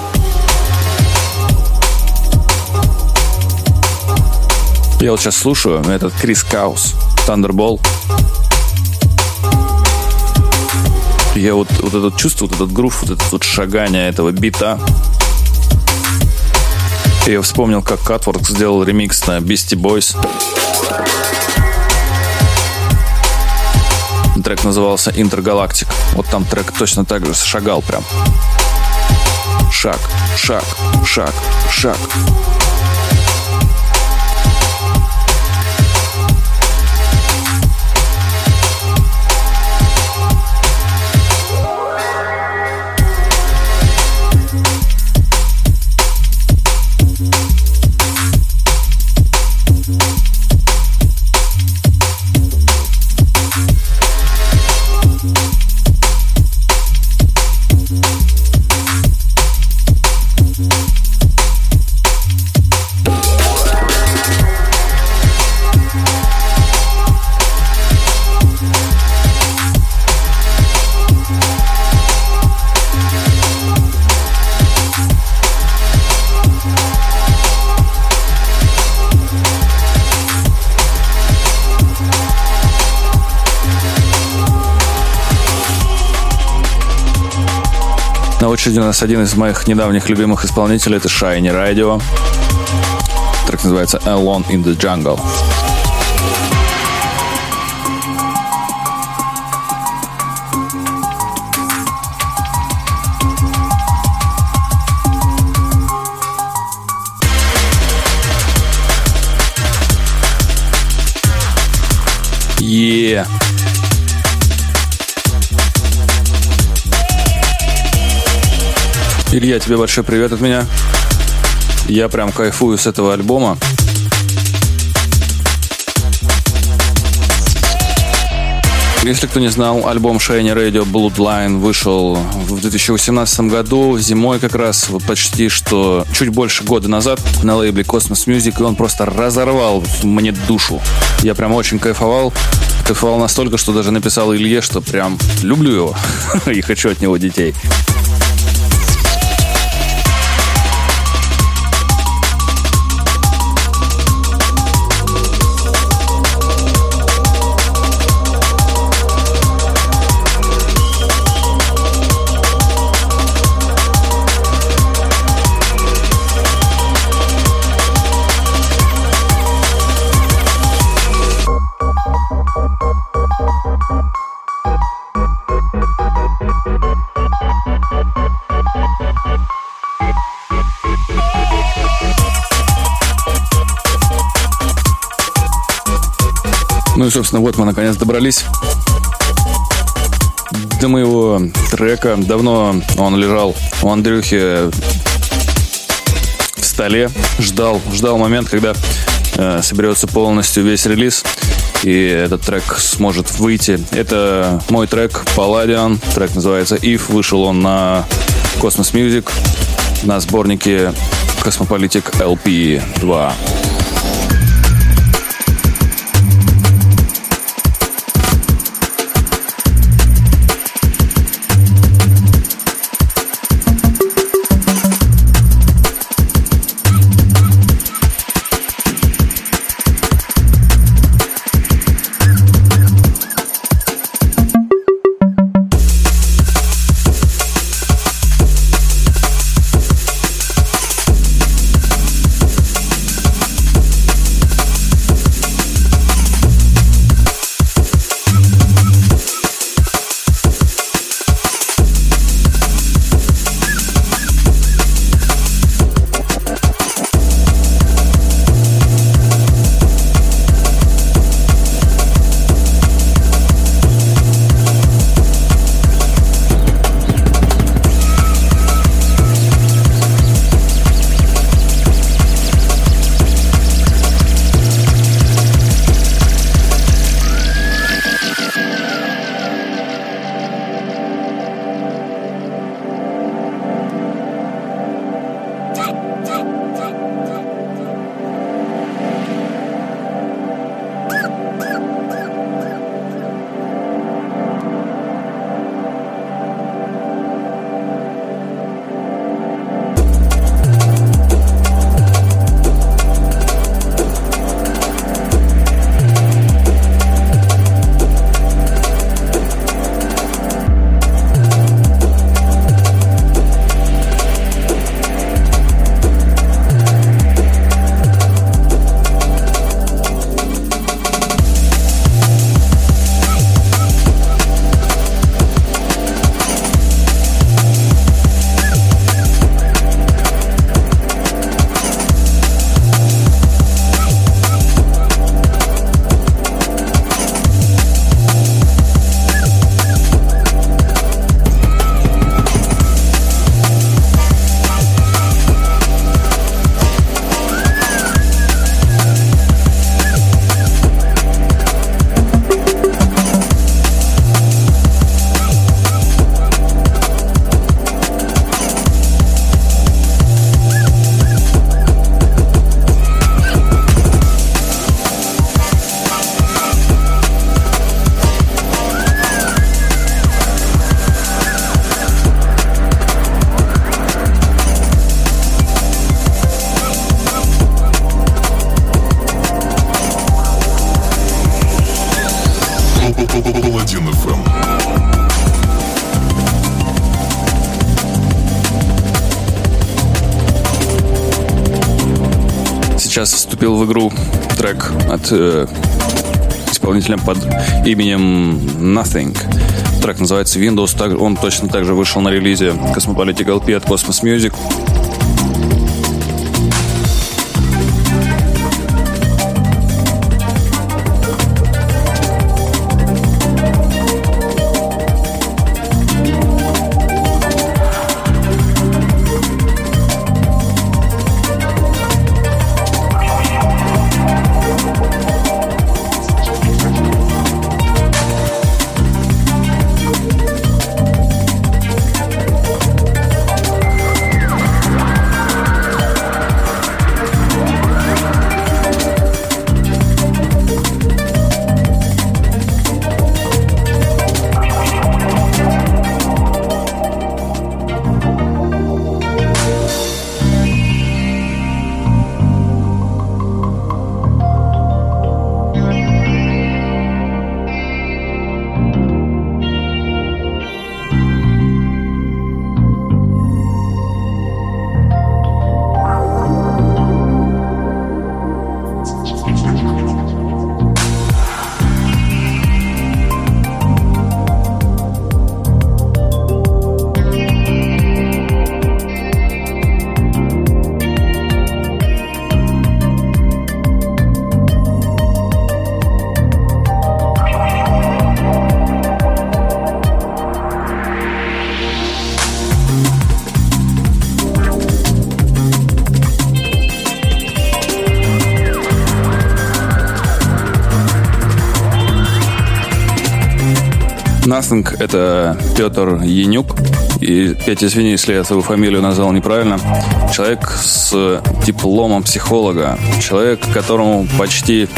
Я вот сейчас слушаю этот Крис Каус, Thunderball. Я вот, вот это чувство, вот этот грув, вот это вот шагание этого бита. Я вспомнил, как Cutwork сделал ремикс на Beastie Boys. Трек назывался Intergalactic. Вот там трек точно так же шагал прям. Шаг, шаг, шаг, шаг. На очереди у нас один из моих недавних любимых исполнителей. Это Shiny Radio. Трек называется Alone in the Jungle. Yeah. Илья, тебе большой привет от меня. Я прям кайфую с этого альбома. Если кто не знал, альбом Shiny Radio Bloodline вышел в две тысячи восемнадцатом году, зимой как раз, вот почти что чуть больше года назад на лейбле Cosmos Music, и он просто разорвал мне душу. Я прям очень кайфовал. Кайфовал настолько, что даже написал Илье, что прям люблю его и хочу от него детей. Ну и, собственно, вот мы наконец добрались до моего трека. Давно он лежал у Андрюхи в столе. Ждал, ждал момент, когда э, соберется полностью весь релиз, и этот трек сможет выйти. Это мой трек Palladian. Трек называется If. Вышел он на Cosmos Music на сборнике Cosmopolitic эл пи два. Паладин эф эм. сейчас вступил в игру трек от э, исполнителя под именем Nothing. Трек называется Windows. Он точно так же вышел на релизе Cosmopolitan эл пи от Cosmos Music. Nothing — это Петр Янюк. И, Петя, извини, если я свою фамилию назвал неправильно. Человек с дипломом психолога. Человек, которому почти...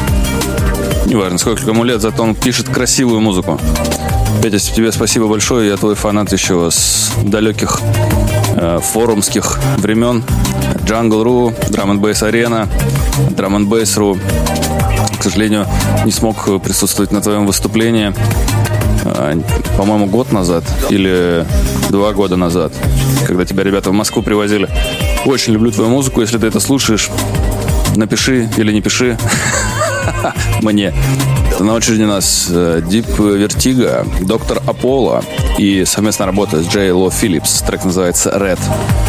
Неважно, сколько ему лет, зато он пишет красивую музыку. Петя, тебе спасибо большое. Я твой фанат еще с далеких э, форумских времен. Jungle.ru, Drum and Bass Arena, Drum and Bass.ru. К сожалению, не смог присутствовать на твоем выступлении. По-моему, год назад или два года назад, когда тебя ребята в Москву привозили. Очень люблю твою музыку. Если ты это слушаешь, напиши или не пиши мне. На очереди у нас Deep Vertigo, Доктор Аполло и совместная работа с Джей Ло Филлипс. Трек называется Red.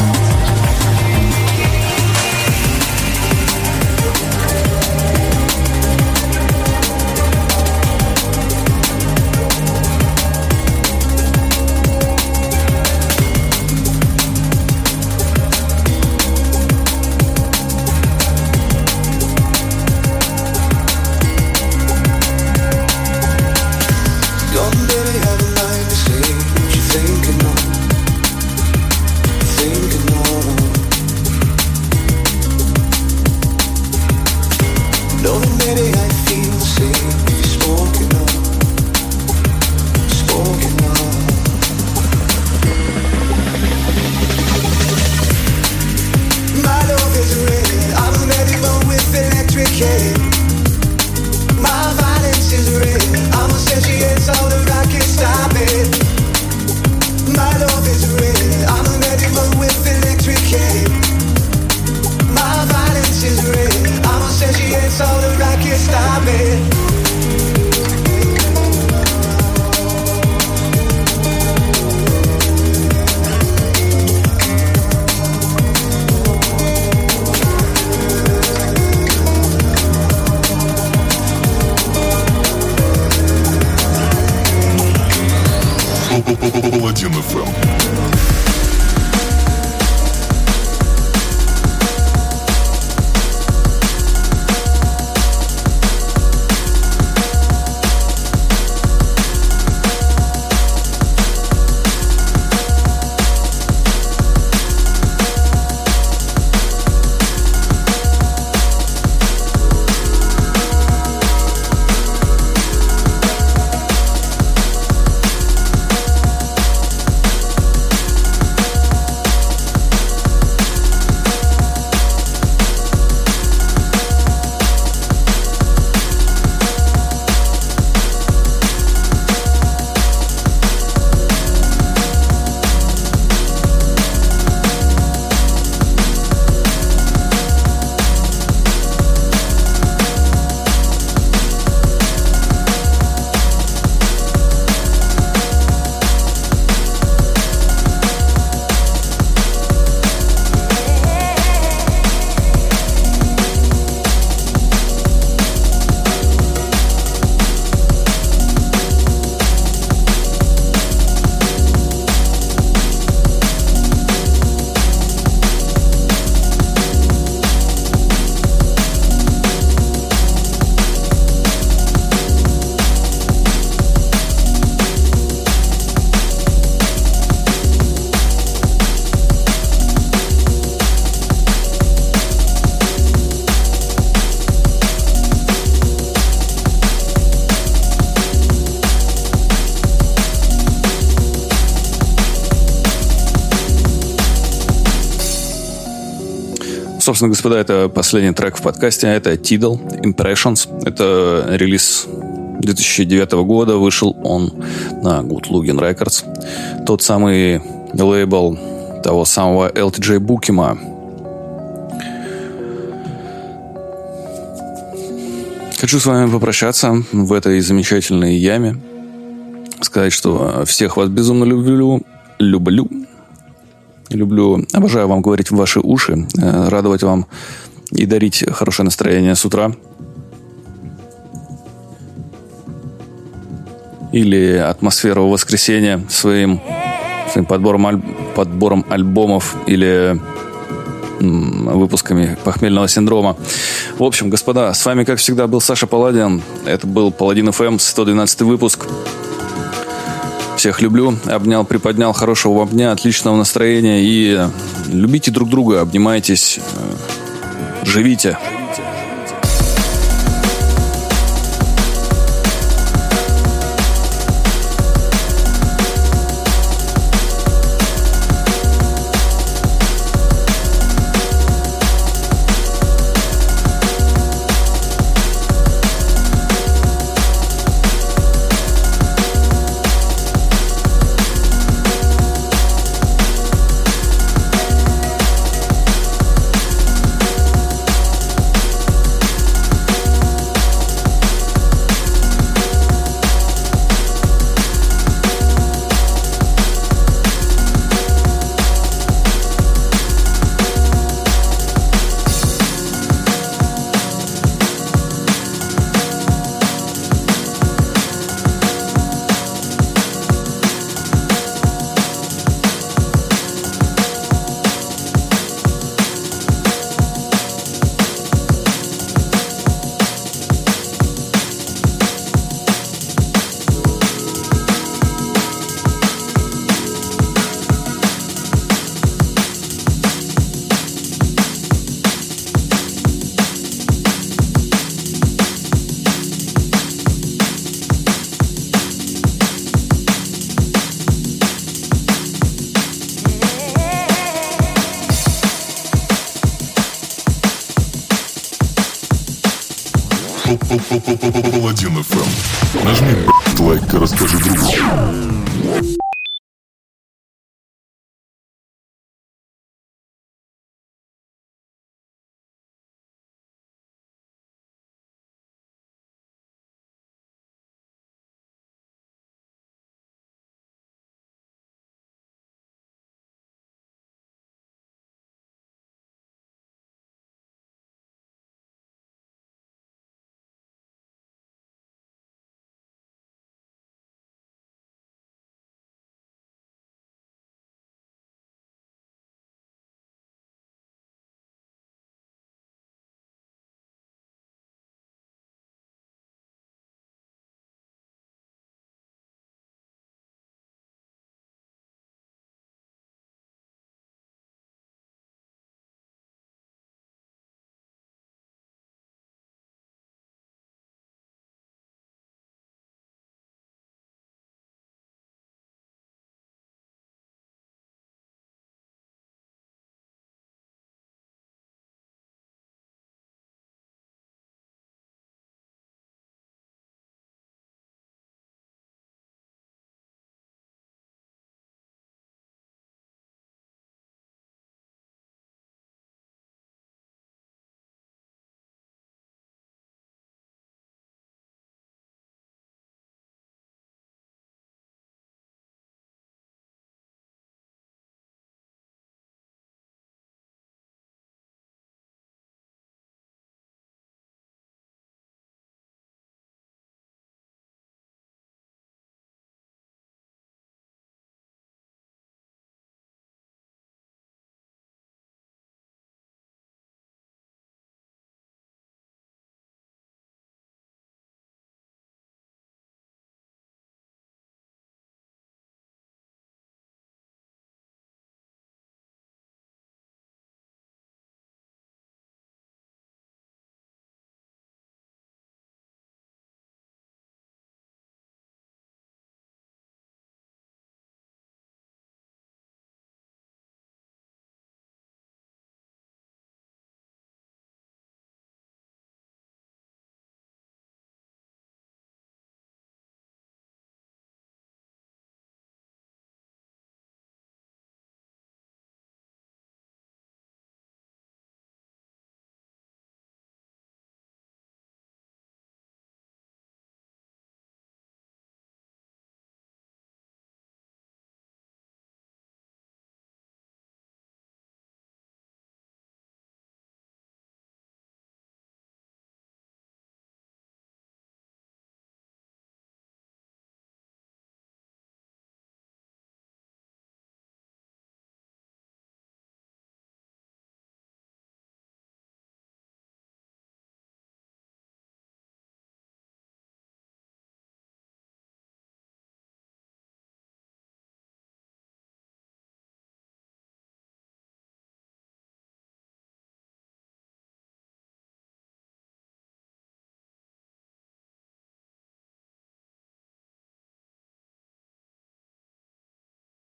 Паладин эф эм. Собственно, господа, это последний трек в подкасте. Это Tidal Impressions. Это релиз две тысячи девятого года. Вышел он на Good Looking Records. Тот самый лейбл того самого эл ти джей Букима. Хочу с вами попрощаться в этой замечательной яме. Сказать, что всех вас безумно люблю. Люблю. Люблю, обожаю вам говорить в ваши уши, радовать вам и дарить хорошее настроение с утра. Или атмосферу воскресенья своим, своим подбором, аль, подбором альбомов или м, выпусками похмельного синдрома. В общем, господа, с вами, как всегда, был Саша Паладин. Это был Паладин эф эм, сто двенадцатый выпуск. Всех люблю, обнял, приподнял, хорошего вам дня, отличного настроения и любите друг друга, обнимайтесь, живите. Паладин эф эм. Нажми лайк и расскажи другу.